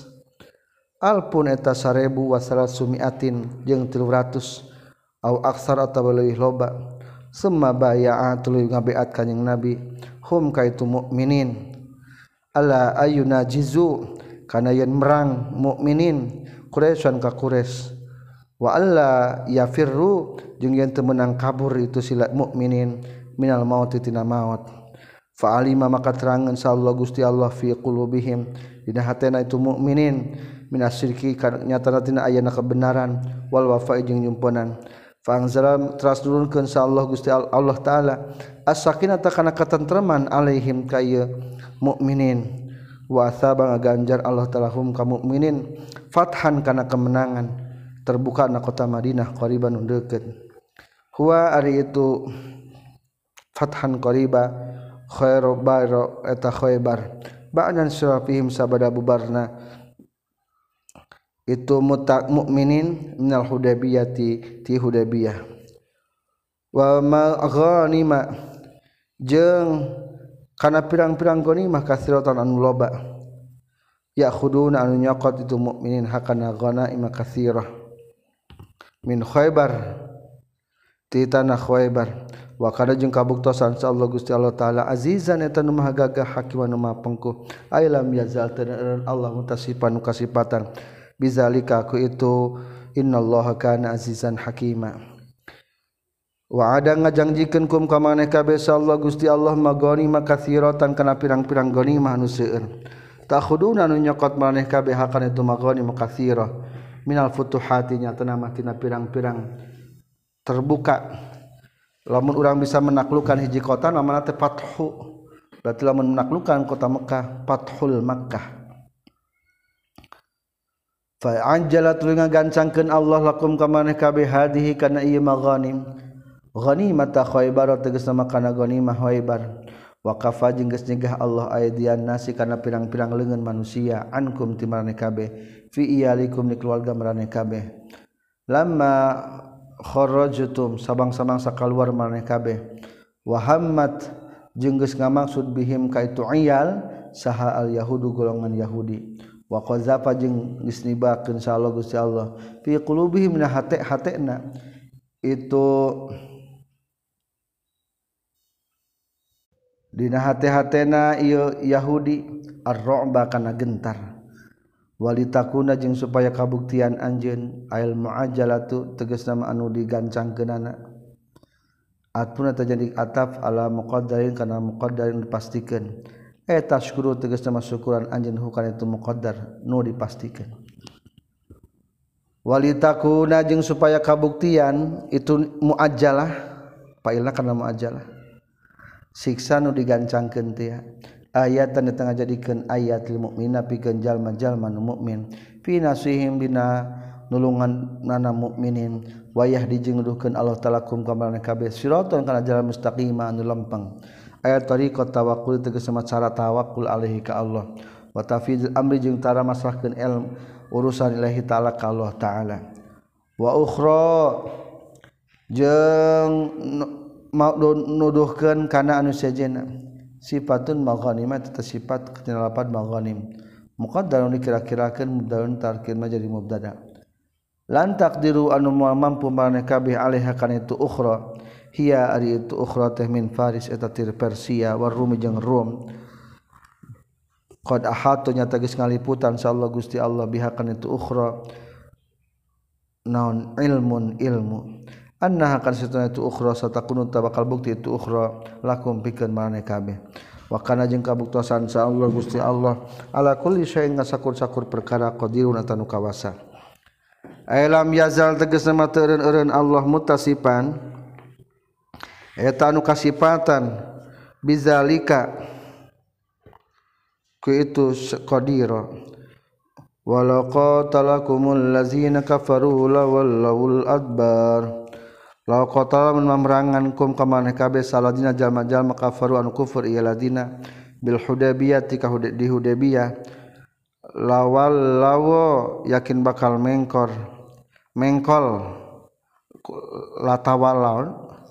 [SPEAKER 1] alpun eta sarebu wa salasumiatin jeung tilu ratus au aksar atawa leuwih loba summa baya'a tuluy ngabeat kanjing Nabi hum kaitu mukminin ala ayuna jizu kana yen merang mukminin Quraisyan ka Quraisy wa alla yafirru jeung yen teu meunang kabur itu sila mukminin minal maut tina maut fa alima maka terangeun sallallahu Gusti Allah fi qulubihim dina hatena itu mukminin minasyirki nyatana tina ayana kebenaran wal wafa jeung nyumponan fangzalam teras nurunkeun sa Allah Gusti Allah taala as-sakinata kana katentreman alaihim ka ieu mukminin wa asaba ngaganjar Allah taala hum ka mukminin fathan kana kemenangan terbuka na kota Madinah qariban nu deukeut huwa ari itu fathan qariba khairu bayro eta khaybar ba'dan surafihim sabada bubarna itu mutak mukminin minal Hudaybiyah ti, ti Hudaybiyah wa ma ghanima jeung kana pirang-pirang ghanimah katsiratan anu loba ya khuduna anu nyokot itu mukminin hakana ghanaima katsirah min Khaybar ti tanah Khaybar wa kana jeung kabuktosan sa Allah Gusti Allah taala azizan eta nu maha gagah hakim anu maha pengku ailam yazal tadaan Allah mutasifan nu kasifatan bizalika aku itu innallaha kana azizan hakima wa ada ngajangjikeun kum ka maneh kabeh sallallahu Gusti Allah magoni makatsiratan kana pirang-pirang ghanimah anu seueur takhuduna anu nyokot maneh kabeh hakan itu magoni makatsirah minal futuhati nyatana mah tina pirang-pirang terbuka lamun urang bisa menaklukkan hiji kota namana teh fathu berarti lamun menaklukkan kota Mekah fathul Makkah fa anjala tuluy ngagancangkeun Allah lakum ka maneh kabeh hadihi kana ieu maghanim ghanimata Khaybar tegasna kana ghanimah Khaybar wa kafa jeung geus nyegah Allah aydian nasi kana pirang-pirang leungeun manusia ankum ti maneh kabeh fi iyalikum ni keluarga maneh kabeh lamma kharajtum sabang-sabang sakaluar maneh kabeh wa hammat jeung geus ngamaksud bihim ka itu iyal saha al yahudu golongan Yahudi wa qazafa jeung geus nibakeun sa Allah Gusti Allah fi qulubihim min hate-hatena itu dina hate-hatena ieu Yahudi ar-ru'ba kana gentar walitakuna jeung supaya kabuktian anjeun ail muajjalatu tegasna anu digancangkeunana atuna terjadi ataf ala muqaddarin kana muqaddarin dipastikeun eta syukuru tegasna syukuran anjeun hukana itu muqaddar nu dipastikeun walitakuna jeung supaya kabuktian itu muajjalah fa'ilna kana muajjalah siksa nu digancangkeun teh ayatan di tengah jadikeun ayat lil mukmina pikeun jalma-jalma nu mukmin fi nasihim dina nulungan nana mukminin wayah dijeng nuduhkeun Allah taala kum ka maraneh kabeh siraton kana jalan mustaqim anu lempeng ayat tariqat tawakkul tegas cara tawakkul alaihi ka Allah wa tafidul amri jeung tara masrahkeun ilm urusan ilahi taala ka Allah taala wa ukhra jeung nuduhkeun kana anu sejenna sifatun maghanimah eta sifat kana lapan maghanim muqaddarun dikira-kirakeun mubdalun tarkirna jadi mubtada lan taqdiru anu moal mampu maraneh kabeh alaiha kana itu ukhra hiya ari itu ukhra teh min faris eta tir Persia war rum jeung rum qad ahatu nya tagis ngaliputan insyaallah Gusti Allah biha kana itu ukhra naon ilmun ilmu annaha kan satuna itu ukhra satakunu tabakal bukti itu ukhra lakum pikeun maraneh kabeh wa kana jeung kabuktosan insyaallah Gusti Allah ala kulli syai'in ngasakur-sakur perkara qadirun atanu kawasa alam yazal tegasna mah teu eureun Allah mutasifan eta anu kasifatan bizalika ku itu qadira walau qatalakumul ladzina kafaru lawallul adbar law qatala man memerangankum ka maneh kabeh saladina jalma-jalma kafaru anu kufur ieu ladina bil hudaybiyah tika di hudaybiyah lawal lawo yakin bakal mengkor mengkol latawalaun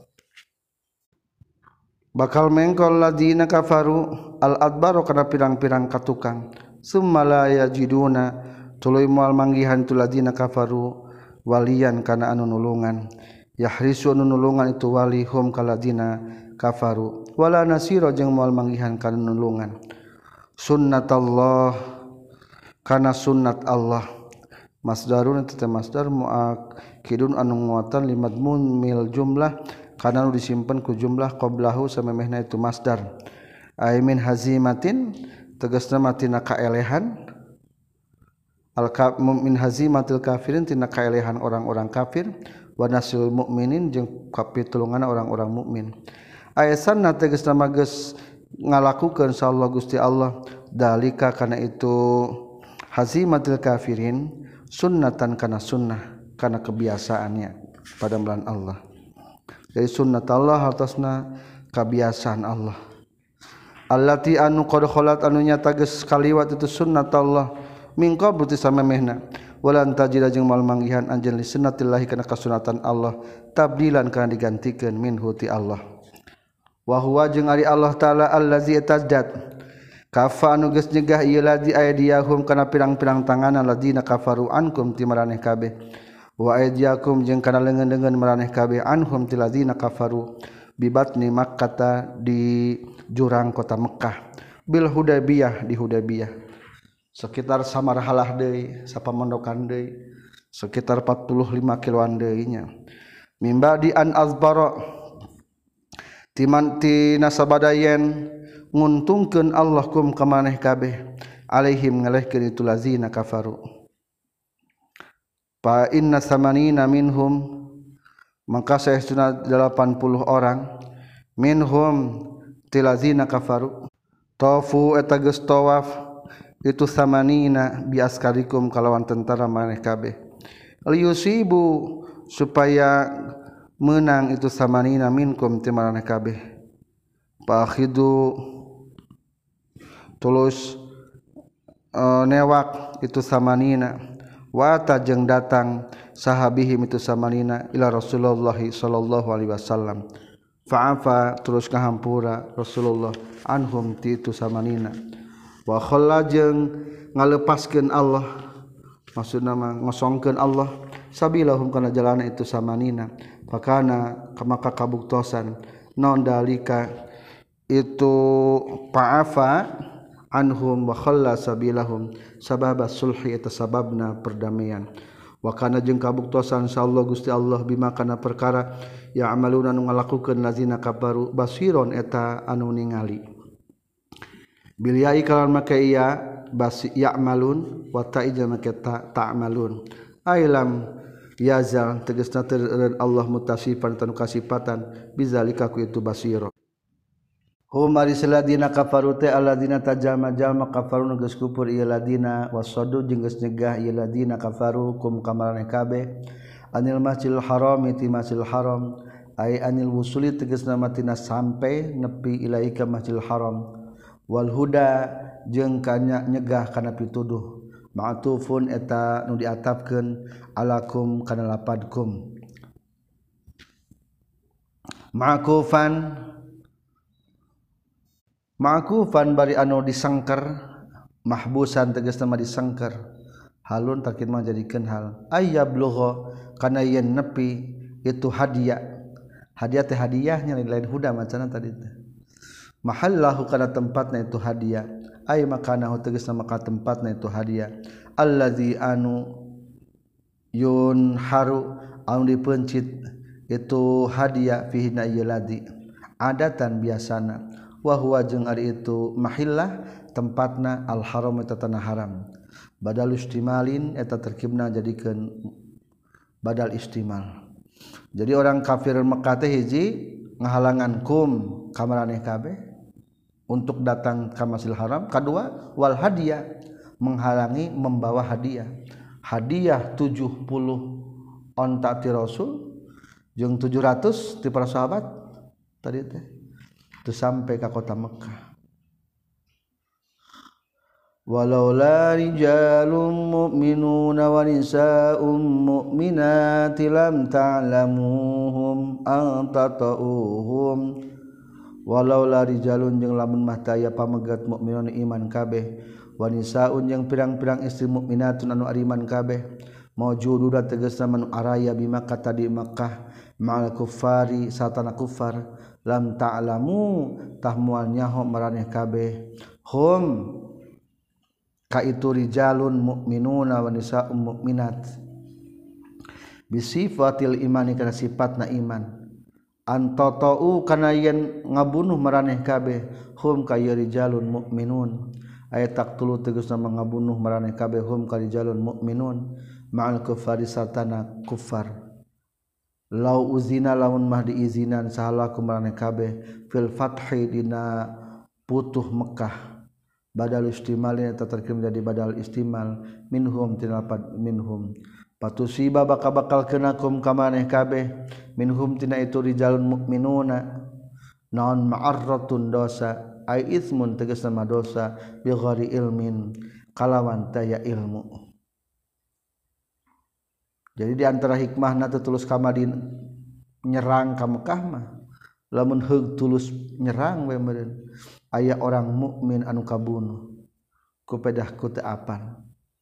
[SPEAKER 1] bakal mengkol ladina kafaru al adbar kana pirang-pirang katukang summa la yajiduna tuluy moal manggihan tu ladina kafaru walian kana anu nulungan yahrisu anu nulungan itu wali hum kaladina kafaru wala nasira jeung moal manggihan kana nulungan sunnatallah kana sunnat Allah masdarun teh masdar muakkidun anu nguatan limadmun mil jumlah kana anu disimpen ku jumlah qablahu samemehna itu masdar ay min hazimatin tegasna matina kaelehan al min hazimatil kafirin tina kaelehan orang-orang kafir wa nasul mukminin jeung kapitulungan orang-orang mukmin ayasanna tegasna mages ngalakukeun insyaallah Gusti Allah dalika kana itu hazimatil kafirin sunnatan kana sunnah kana kebiasaannya pada bulan Allah jadi sunnat Allah atasna kebiasaan Allah allati anu qad khalat anu nyata geus kaliwat itu sunnat Allah min qablu tisamemehna walan tajida jeung mal manggihan anjeun li sunnatillahi kana kasunatan Allah tabdilan kana digantikeun minhu ti Allah wa huwa jeung ari Allah taala allazi tajdat kafa anu geus nyegah ieu ladzi aydiyahum kana pirang-pirang tanganan ladina kafaru ankum ti maraneh kabeh wa aydiyakum jeung kana leungeun-leungeun maraneh kabeh anhum ti ladina kafaru bibatni makkah di jurang kota Mekah bil Hudaybiyah di Hudaybiyah sekitar samarhalah deui sapamondokan deui sekitar empat puluh lima kiloan deui nya mimba di an azbara timan ti nasabadayen nguntungkeun Allah kum ka maneh kabeh alaihim ngalehkeun itu lazina kafaru fa inna samanina minhum maka saestuna delapan puluh orang minhum tilazina kafaru tafu eta geus tawaf itu samanina bi askarikum kalawan tentara maneh kabeh liyusibu supaya menang itu samanina minkum ti maneh kabeh pakhidu tulus uh, newak itu samanina wa tajeng datang sahabihim itu samanina ila Rasulullah sallallahu alaihi wasallam fa'afa terus kahampura Rasulullah anhum ti itu samanina wa khalla jeung ngalepaskeun Allah maksudna mah ngosongkeun Allah sabilahum kana jalana itu samanina fakana maka kabuktosan non dalika itu fa'afa anhum wa khalla sabilahum sababa sulhi eta sababna perdamaian wa kana jeung kabuktosan insyaallah Gusti Allah bima kana perkara ya amaluna nu ngalakukeun lazina kafaru basiron eta anu ningali bil ya'i kalan make iya basi ya'malun wa ta'ija make ta ta'malun ailam yazal tegasna teu Allah mutasifan tanu kasifatan bizalika ku itu basira hum ari saladina kafaru ta alladina tajama jalma kafaru geus kufur ieu ladina wasadu jeung geus nyegah ieu ladina kafaru kum kamarane kabeh anil masjidil haram ti masjidil haram ay anil wusuli tegasna matina sampai nepi ilaika masjidil haram wal huda jeung kana nyegah kana pituduh ma'tufun eta nu diatapkeun alakum kana lapadkum ma'kufan ma'kufan bari anu disangker mahbusan tegasna mah disangker halun takin mah jadikeun hal ayyablugha kana yen nepi itu hadiah hadiah teh hadiahnya lain huda macana tadi teh mahallahu kana tempatna itu hadiah ay makanahu tegasna maka tempatna itu hadiah allazi anu yun haru anu dipencit itu hadiah fihi na yaladi adatan biasana wa huwa jeung ari itu mahillah tempatna al haram eta tanah haram badal istimalin eta terkibna jadikeun badal istimal. Jadi orang kafir Mekah teh hiji ngahalangan kum kamaraneh kabeh untuk datang ka Masjidil Haram. Kedua wal hadiah menghalangi membawa hadiah. Hadiah tujuh puluh onta ti Rasul jeung tujuh ratus ti para sahabat tadi teh teu sampai ka kota Mekah. Walaula rijalun mu'minuna wa nisaa'un mu'minati lam ta'lamuhum an tata'uhum walaula rijalun jeung lamun mah taya pamegat mukminun iman kabeh wa nisaa'un jeung pirang-pirang istri mukminatun anu ariman kabeh maujududa tegasna manu araya bi Makkah tadi Makkah ma'al kuffari satana kuffar lam ta'lamu tah moal nyaho maraneh kabeh hum ka itu rijalun mu'minuna wa nisaa'un mu'minat bisifatil imani kana sifatna iman antotau kana yen ngabunuh maraneh kabeh hum ka rijalun mu'minun aya taqtulu tegasna ngabunuh maraneh kabeh hum ka rijalun mu'minun ma'al kuffari sartana kuffar lau uzina lamun mah diizinan sahalakum maraneh kabeh fil fathi dina putuh Mekah badal istimal eta terkim jadi badal istimal minhum tinapad minhum patusiba bakal bakal kenakum kamaneh kabeh minhum tina itu rijalun mukminuna naon ma'arratun dosa ai ismun tegasna mah dosa bi ghairi ilmin kalawan taya ilmu. Jadi di antara hikmahna teu tulus ka Madinah nyerang ka Mekah mah lamun heug tulus nyerang we meureun aya orang mukmin anu kabunuh ku pedah ku teu apal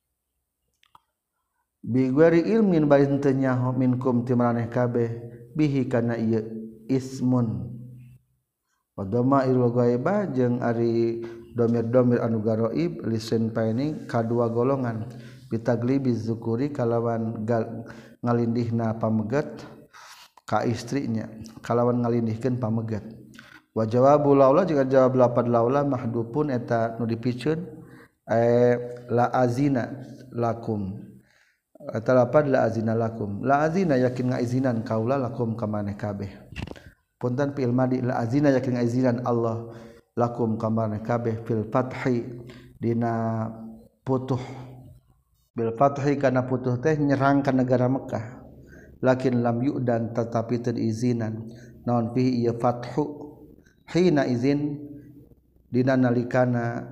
[SPEAKER 1] bi ghairi ilmin bari teu nyaho minkum ti maraneh kabeh bihi kana ieu ismun wa dhamairul ghaibah jeung ari domir-domir anu garaib lisen paening kadua golongan bitaglibi zukuri kalawan ngalindihna pamegat ka istrinya kalawan ngalindihkeun pamegat wa jawabu laula jeung jawab lapad laula mahdhufun eta nu dipikeun eh la azina lakum eta lapad la azina lakum la azina yakin ngaizinan kaula lakum ka maneh kabeh punten fi'il madi la azina yakin ngaizinan Allah lakum ka maneh kabeh fil fathi dina putuh bil fathi kana putuh teh nyerang ka negara Mekah lakin lam yu'dan tetapi teu diizinan naon fihi ieu fathu hina izin dina nalikana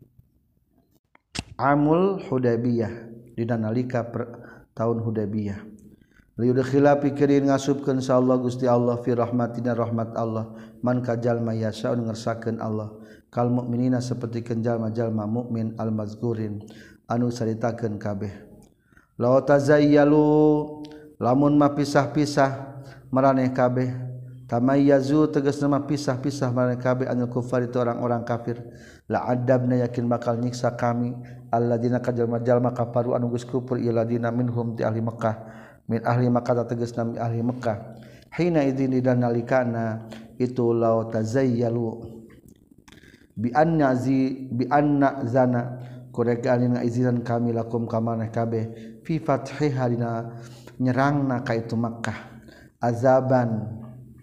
[SPEAKER 1] amul Hudaybiyah dina nalika tahun Hudaybiyah liudkhila pikirin ngasupkeun insyaallah Gusti Allah fi rahmatina rahmat Allah man kajal mayasa ngersakeun Allah kal mukminina sapertikeun jalma-jalma mukmin al mazkurin anu saritakeun kabeh law tazayyalu lamun mah pisah-pisah maraneh kabeh tamayyazu tegasna mah pisah-pisah maraneh kabeh anil kufar itu orang-orang kafir la adabna yakin bakal nyiksa kami alladzina kajalma-jalma kafaru anu geus kufur iladina minhum ti ahli Makkah min ahli Makkah tegasna min ahli Makkah hina idzin dan nalikana itu law tazayyalu bi anna zi bi anna zana kurekaan ngaizin kami lakum kamaneh kabeh fi fathi harina nyerangna ka itu Makkah azaban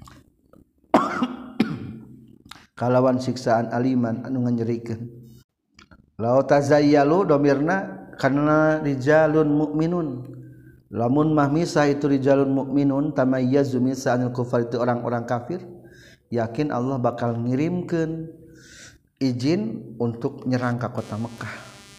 [SPEAKER 1] kalawan siksaan aliman anu nganyerikeun. Law tazayyalu domirna karena rijalun mukminun, lamun mah misah itu rijalun mukminun tamayyazu misa anil kufar itu orang-orang kafir, yakin Allah bakal ngirimkeun izin untuk nyerang ka kota Mekah.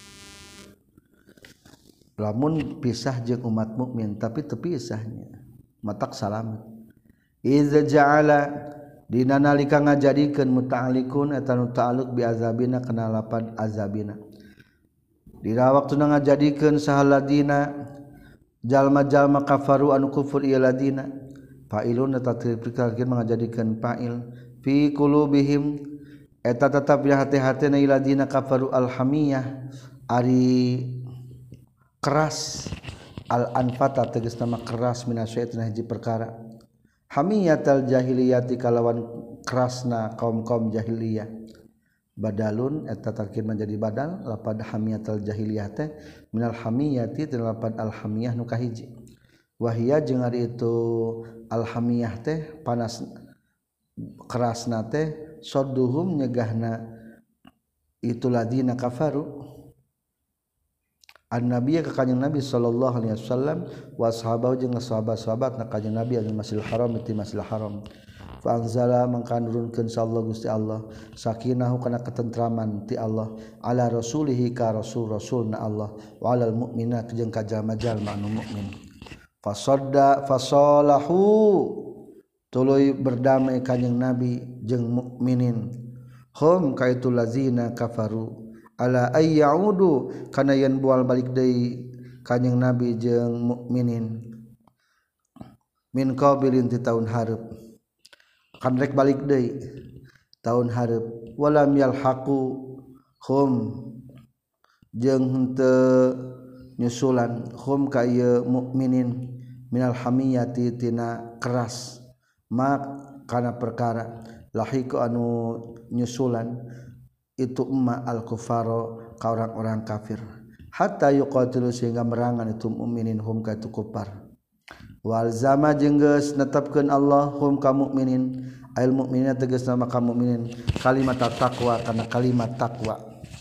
[SPEAKER 1] Lamun pisah jeung umat mukmin tapi teu pisahnya matak salamet. Iza ja'ala dina nalika ngajadikeun muta'alliqun eta nu ta'alluq bi azabina kana lapan azabina. Dina waktuna ngajadikeun sahaladina jalma-jalma kafaru anu kufur ieu ladina fa'ilun eta tepikeun ngajadikeun fa'il fi qulubihim eta tetap di hati-hatina iladina kafaru alhamiyah ari keras al-anfata tegasna mah keras minasyaitan hiji perkara hamiyatal jahiliyati kalawan kerasna kaum-kaum jahiliyah badalun eta tarkib menjadi badal lapad hamiyatal jahiliyah teh minal hamiyati tina lapad al hamiyah nu kahiji wahia jeung ari itu al hamiyah teh panas kerasna teh sadduhum nyegahna itu ladina kafaru an-nabiy ka kanjing Nabi sallallahu alaihi wasallam wa sahabahu jeung sahabat-sahabatna kanjing Nabi anu Masjidil Haram ti Masjidil Haram fa anzala mangka nurunkeun sallallahu Gusti Allah sakinahu kana ketentraman ti Allah ala rasulihi ka rasul rasulna Allah wa alal mukminina jeung ka jalma-jalma anu mukmin fasadda fasalahu tuluy berdamai kanjing Nabi jeung mukminin hum kaitu lazina kafaru ala ay yaudu kana yen bual balik deui kanjing Nabi jeung mukminin min qabilin ti taun hareup kan rek balik deui taun hareup walam yalhaqu hum jeung henteu nyusulan hum ka ieu mukminin minal hamiyati tina keras mak kana perkara lahiku anu nyusulan itu umma al-kufaro ka orang-orang kafir hatta yuqatilu sehingga merangan itu mukminin hum ka itu kufar wal zama jeung geus netepkeun Allah hum ka mukminin ail mukminina tegasna ka mukminin kalimat taqwa kana kalimat taqwa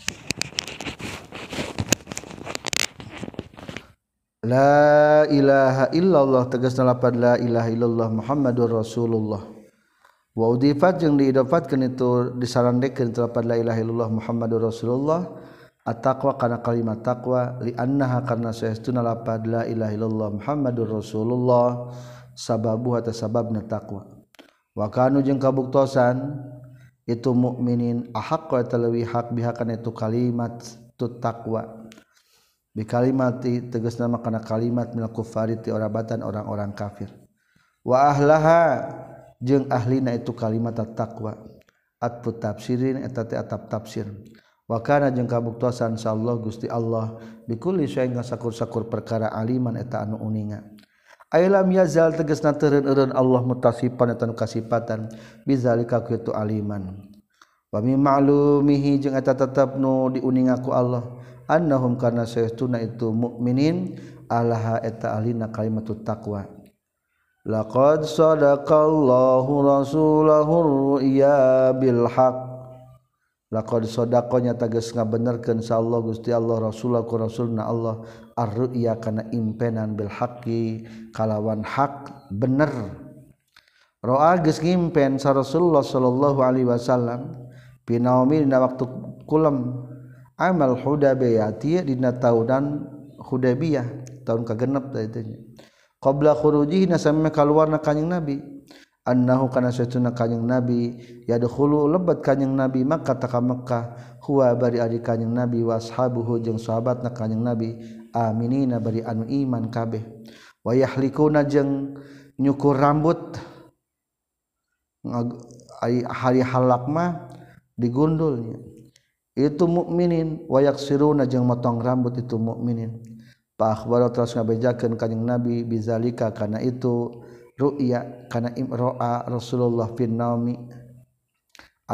[SPEAKER 1] la ilaha illallah tegasna lapad la ilaha illallah Muhammadur Rasulullah wa udifat jeung diidofatkeun itu disarandekeun terdapat la ilaha illallah Muhammadur Rasulullah at-taqwa kana kalimat taqwa li annaha karna saestuna lapad la ilaha illallah Muhammadur Rasulullah sababu atau sababna taqwa wa kanu jeung kabuktosan itu mukminin ahaqqa eta leuwih hak biha kana itu kalimat tu taqwa bi kalimati tegasna kana kalimat minal kufari ti orabatan orang-orang kafir wa ahlaha jeung ahlina itu kalimat at-taqwa atfu tafsirin eta teh atap tafsir wa kana jeung kabuktosan insyaallah Gusti Allah bikulli syai'in sakur-sakur perkara aliman eta anu uninga ailam yazal tegasna teureun-eureun Allah mutasifan eta nu kasifatan bizalika kitu aliman wa mi ma'lumihi jeung eta tetep nu diuninga ku Allah annahum kana saestuna itu mukminin alaha eta ahlina kalimatut taqwa laqad sadaqallahu rasulahu ru'ya bil haqq laqad sadaqanya tegas ngabenerkeun insyaallah Gusti Allah rasulahu rasulna Allah ar-ru'ya kana impenan bil haqqi kalawan hak bener roa geus ngimpen sa Rasulullah sallallahu alaihi wasallam pinaumi dina waktu kulam amal Hudaybiyah dina taunan Hudaybiyah tahun kagenep teh teh qabla khurujihi nasama kaluarna kanjing Nabi annahu kana satuna kanjing Nabi yadkhulu lebat kanjing Nabi Makkah ka Makkah huwa bari ari kanjing Nabi wa ashabuhu jeung sahabatna kanjing Nabi aminina bari anu iman kabeh wa yahlikuna jeung nyukur rambut hari halak mah digundulnya itu mukminin wa yaksiruna jeung motong rambut itu mukminin pa akhbara terus ngabejakeun kanjing Nabi bizalika kana itu ru'ya kana imro'a Rasulullah fin naumi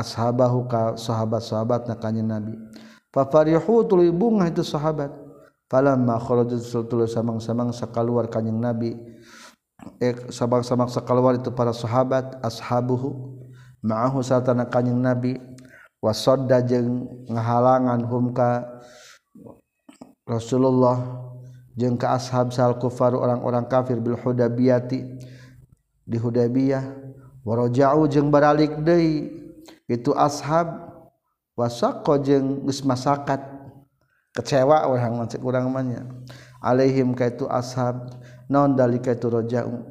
[SPEAKER 1] ashabahu ka sahabat-sahabatna kanjing Nabi fa farihu tuluy bungah itu sahabat falamma kharajat sultul samang-samang sakaluar kanjing Nabi eh samang-samang sakaluar itu para sahabat ashabuhu ma'ahu satana kanjing Nabi wasadda jeung ngahalangan hum ka Rasulullah jeung ka ashab sal kufar orang-orang kafir bil Hudaybiyati di Hudaybiyah waraja'u jeung baralik deui itu ashab wasaqqa jeung geus masakat kecewa urang macet urang mah nya alaihim ka itu ashab naon dalika itu raja'u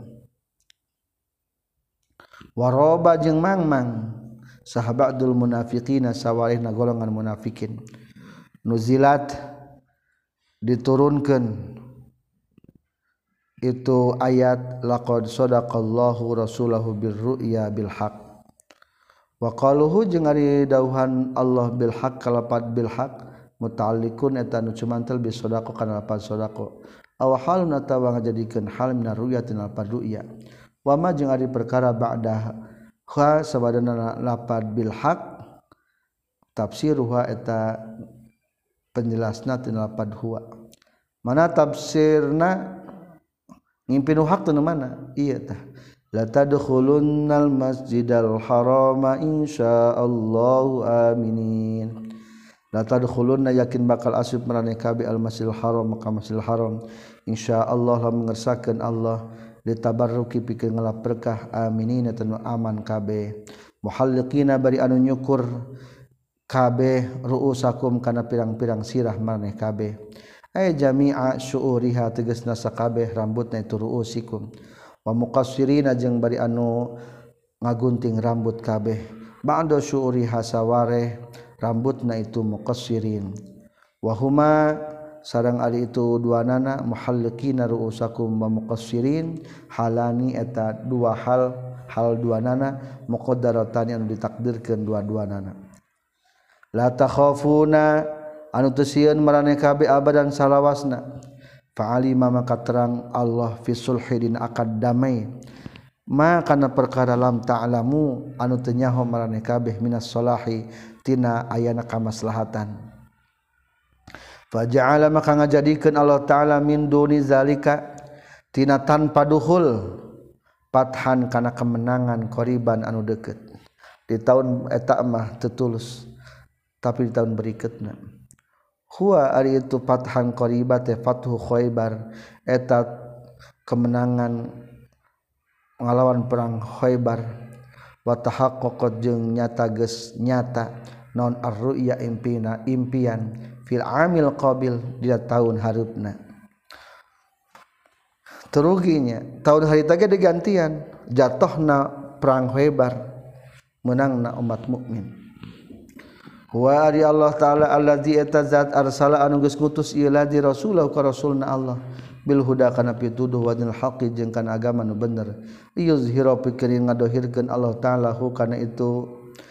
[SPEAKER 1] waroba jeung mangmang sahabatul munafiqina sawarihna golongan munafikin nuzilat diturunkeun itu ayat laqad sadaqallahu rasulahu birru'ya bil haqq wa qaluhu jeung ari dawuhan Allah bil haqq kalapat bil haqq muta'alliqun eta nu cumantel bi sadaqah kana lapan sadaqah aw halun atawa ngajadikeun hal minar ru'yatin lapan ru'ya wa ma jeung ari perkara ba'da ha sabadana lapan bil haqq tafsiruha eta penjelasna tina lapan huwa mana tafsirna ngimpi nu haq teh mana ieu tah la tadkhulunnal masjidal harama insyaallahu aminin la tadkhulunna yakin bakal asup maraneh kabeh al masjidil haram ka masjidil haram insyaallah lamun ngersakeun Allah ditabarruki pikeun ngalap berkah aminin eta nu aman kabeh muhalliqina bari anu nyukur kabeh ruusakum kana pirang-pirang sirah maraneh kabeh ay jami'a syu'uriha tegasna sakabeh rambutna itu ruusikum wa muqassirina jeung bari anu ngagunting rambut kabeh ba'da syu'uriha saware rambutna itu muqassirin wa huma sareng ari itu duanana muhalliqina ruusakum wa muqassirin halani eta dua hal hal duanana muqaddaratan anu ditakdirkeun dua-duanana la takhafuna anu teu sieun maraneh kabeh abadan salawasna fa'alima maka terang Allah fi sulhidin akad damai ma kana perkara lam ta'lamu anu teu nyaho maraneh kabeh minas salahi tina ayana kamaslahatan faja'ala maka ngajadikeun Allah taala min duni zalika tina tanpa duhul pathan kana kemenangan qoriban anu deukeut di tahun eta mah teu tulus tapi di tahun berikutna huwa ari itu pathan qoriba teh fathu Khaybar eta kemenangan ngalawan perang Khaybar wa tahaqqaqat jeung nyata geus nyata naon ar-ru'ya impina impian fil amil qabil di tahun hareupna teruginya tahun harita ge digantian jatohna perang Khaybar menangna umat mukmin wa ari Allah taala allazi etazat arsala anu geus ngutus ieu ladzi rasulahu ka rasulna Allah bil huda kana pituduh wa dinil haqqi jeung kana agama nu bener yuzhira pikeun ngadohirkeun Allah taala hu kana itu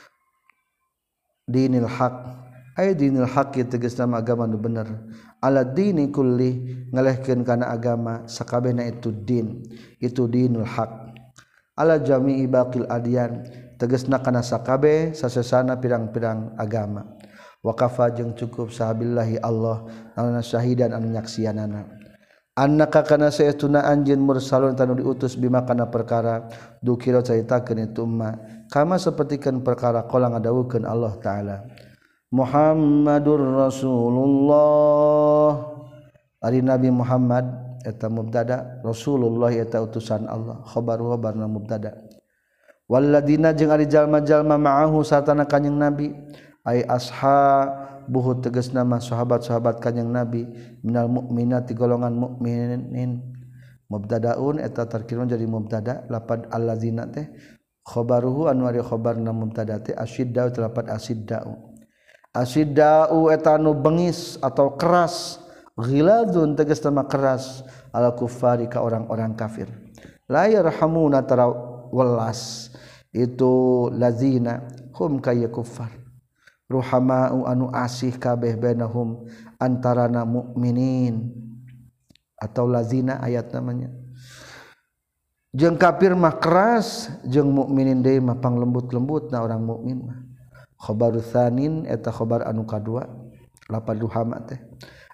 [SPEAKER 1] dinil haqq ay dinil haqqi tegasna agama nu bener ala dini kulli ngalehkeun kana agama sakabehna itu din itu dinul haqq ala jami'i baqil adyan tegasna kana sakabeh sasesana pirang-pirang agama wa kafa jeung cukup sahabillahi Allah anu syahidan anu nyaksianana annaka kana saytuna anjeun mursalun tanu diutus bima kana perkara dukira caritakeun itu umma kama sapertikeun perkara qala ngadawukeun Allah taala Muhammadur Rasulullah ari Nabi Muhammad eta mubtada Rasulullah eta utusan Allah khabaru khabarna mubtada walladina jeung ari jalma-jalma ma'ahu satana kanjing Nabi ai ashabuhu tegasna mah sahabat-sahabat kanjing Nabi minal mukminati golongan mukminin mubtadaun eta tarkirun jadi mubtada lapad alladzina teh khabaruhu anu ari khabarna mubtada teh asyidda lapad asiddau asiddau eta anu bengis atau keras ghiladun tegasna mah keras ala kuffari ka orang-orang kafir la yarhamuna tara welas itu lazina hum kaya kuffar ruhamau anu asih kabeh bainahum antarana mukminin atau lazina ayat namanya jeung kafir mah keras jeung mukminin deui mah panglembut-lembutna orang mukmin mah khabaru tsanin eta khabar anu kadua lapad ruhama teh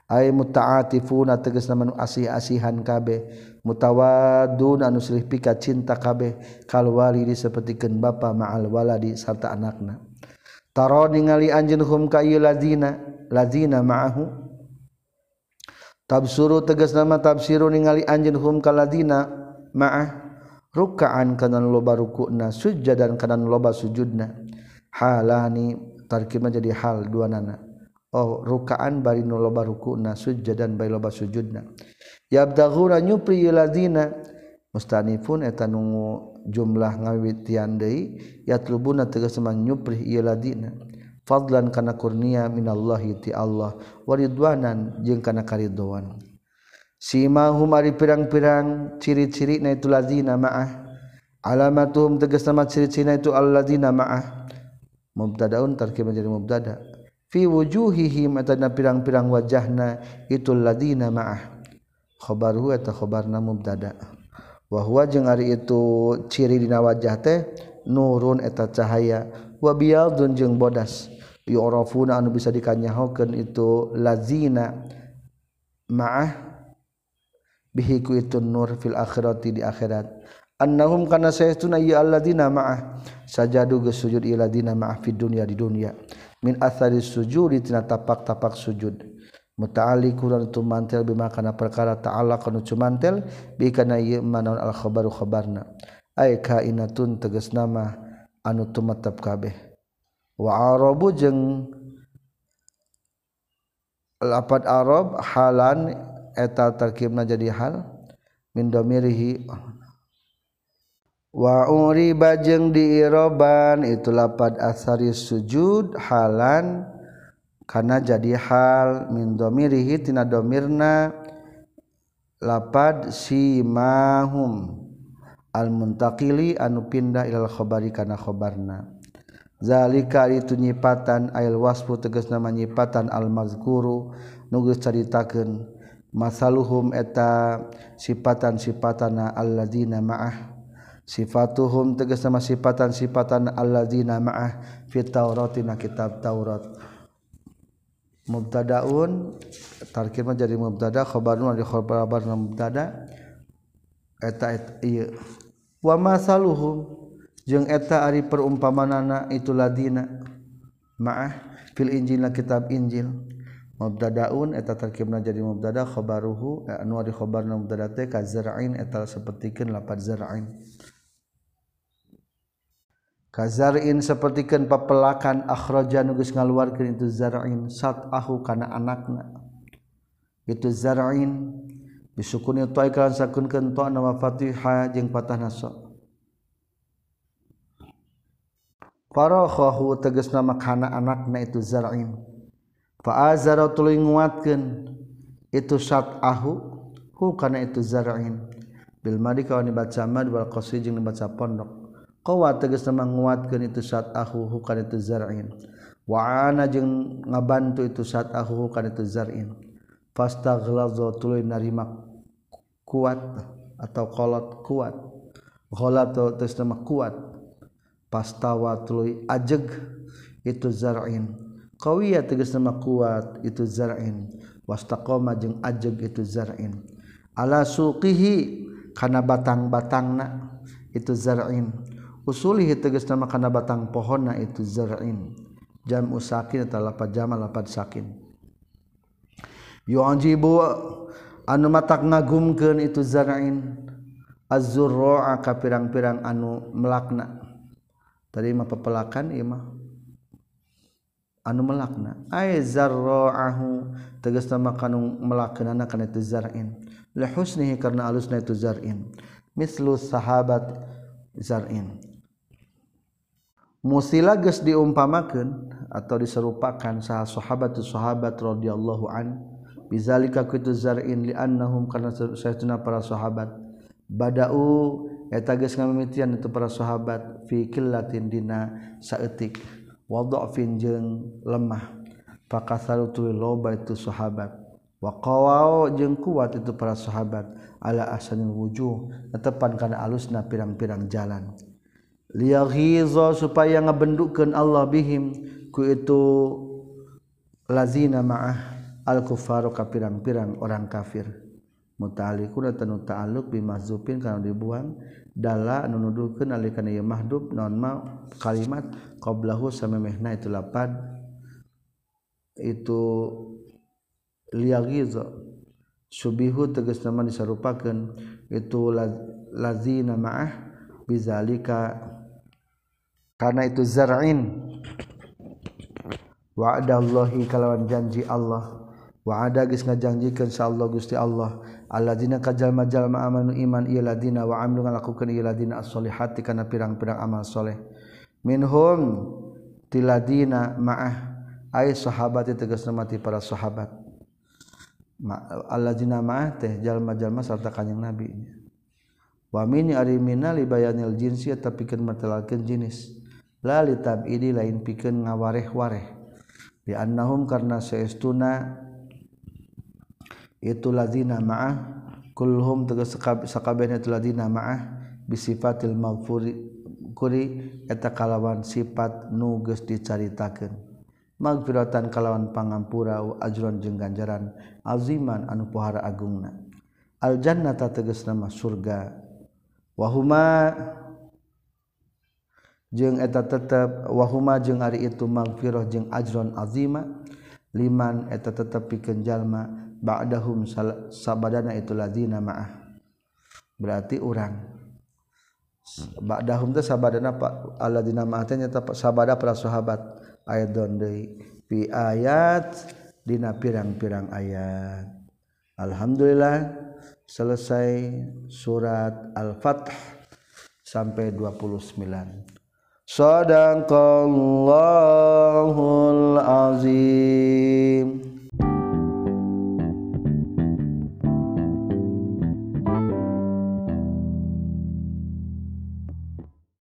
[SPEAKER 1] ay muta'atifuna tegasna manu asih-asihan kabeh mutawaddun anu silih pika cinta kabeh kal walidi sapertikeun bapa ma'al waladi sarta anakna taro ningali anjeun hum ka ieu ladina ladina ma'ahu tabsuru tegasna mah tabsiru ningali anjeun hum ka ladina ma'ah ruk'an kana loba rukuna sujudan kana loba sujudna halani tarkibna jadi hal dua nana oh ruk'an bari nu loba rukuna sujudan bari loba sujudna yabdaghuna nyupri ladina mustanifun eta nu jumlah ngawitian deui yatlubuna tegasna nyupri ieu ladina fadlan kana kurnia minallahi ti Allah waridwanan jeung kana karidwan simahum ari pirang-pirang ciri-ciri na itu ladina ma'ah alamatuhum tegasna mah ciri-cirina itu alladzina ma'ah mubtadaun tarkib menjadi mubtada fi wujuhihim atana pirang-pirang wajahna itu ladina ma'ah khabaruhu eta khabarna mubtada wa huwa jeung ari itu ciri dina wajah teh nurun eta cahaya wa biyadun jeung bodas yu'rafuna anu bisa dikanyahokeun itu lazina ma'ah bihi ku itu nur fil akhirati di akhirat annahum kana saytuna ya alladzina ma'ah sajadu geus sujud ieu ladina ma'ah fid dunya di dunya min athari sujudi tina tapak-tapak sujud muta'alliqun tumantel bima kana perkara ta'ala kana cumantel bi kana ieu manaun al khabaru khabarna ay kainatun tegasna mah anu tumatep kabeh wa arabu jeung lapad arab halan eta tarkibna jadi hal min damirihi wa uriba jeung diiroban itu lapad asari sujud halan kana jadi hal min damirihi tina damirna lapad simahum al muntaqili anu pindah ilal khabari kana khabarna zalika itu nyipatan ail wasfu tegasna nyipatan al mazkuru nu geus caritakeun masaluhum eta sifatan-sifatana alladzina ma'ah sifatuhum tegasna sifatan-sifatan alladzina ma'ah fit tauratina kitab Taurat mubtadaun tarkibna jadi mubtada khabarun di khabarna mubtada eta ieu wa masaluhum jeung eta ari perumpamanana itu ladina ma'ah fil injilna kitab Injil mubtadaun eta tarkibna jadi mubtada khabaruhu anu ari khabarna mubtada teh ka zar'in eta sapertikeun lapad zar'in ka zar'in sapertikeun papelakan akhraja nu geus ngaluarkeun itu zar'in sat'ahu kana anakna itu zar'in bisukuni ta iklan sakunkeun ta na fatihah jeung patahna sa farakhahu tegasna makana anakna itu zar'in fa azara tuluy nguatkeun itu sat'ahu hu kana itu zar'in bil madi kawan dibaca mad wal qasri jeung dibaca pondok qawa tegasna nguatkeun itu sat'ahu hu kana itu zar'in wa ana jeung ngabantu itu sat'ahu hu kana itu zar'in fastaghlaza tuluy narima kuat atau qalat kuat qalat tegasna kuat pastawa tuluy ajeg itu zar'in qawiya tegasna kuat itu zar'in wastaqama jeung ajeg itu zar'in ala suqihi kana batang-batangna itu zar'in usulihi tegasna kana batang pohonna itu zar'in jam usakin eta lapad jamal lapad sakin yu'jibu anu matak ngagumkeun itu zar'in az-zurra'a ka pirang-pirang anu melakna tadi mah pepelakan ieu mah anu melakna ay zarra'ahu tegasna makanu melakeunana kana itu zar'in li husnihi karna alusna itu zar'in mislu sahabat zar'in musila geus diumpamakeun atau diserupakan saha sahabat sahabat radhiyallahu an bizalika kitu zar'in li annahum karna saytuna para sahabat bada'u eta geus ngamimitian itu para sahabat fi qillatin dina saeutik wa dha'fin jeung lemah fakasaru tu loba itu sahabat wa qawau jeung kuat itu para sahabat ala ahsanil wujuh netepan kana alusna pirang-pirang jalan liyaghiza supaya ngabendukeun Allah bihim ku itu lazina ma'ah al-kufaru ka pirang-pirang orang kafir muta'alliquna tanu ta'alluq bimahzufin kana dibuang dalla anu nuduhkeun alika ieu mahdhuf naon ma kalimat qablahu samemehna itu lapad itu liyagiza subihu tegasna mah disarupakeun itu lazina ma'ah bizalika karena itu zar'in wa'adallahi kalawan janji Allah wa'ada geus ngajanjikeun insyaallah Gusti Allah alladzina kajalma-jalma amanu iman ieu ladina wa amilu ngalakukeun ieu ladina as-solihati kana pirang-pirang amal soleh minhum tiladina ma'ah ay sahabat tegasna mati para sahabat alladzina ma'ah teh jalma-jalma sarta kanjing Nabi wa min arimina li bayanil jinsi tapi pikeun matelalkeun jenis la li tab'idi lain pikeun ngawareh-wareh di annahum karna saestuna itu ladzina ma'ah kulhum tegas sakabehna itu ladzina ma'ah bisifatil maghfuri kuri eta kalawan sifat nu geus dicaritakeun magfiratan kalawan pangampura ajron jeung ganjaran aziman anu pohara agungna al jannata tegasna mah surga wahuma jeung eta tetep wahuma jeung ari itu magfirah jeung ajron azima liman eta tetep pikeun jalma ba'dahum sabadana itu ladzina ma'ah berarti urang ba'dahum teh sabadana alladzina ma'ah teh nyata sabada para sahabat ayat deui fi ayat dina pirang-pirang ayat alhamdulillah selesai surat Al-Fath sampai dua puluh sembilan. Shadaqallahul azim.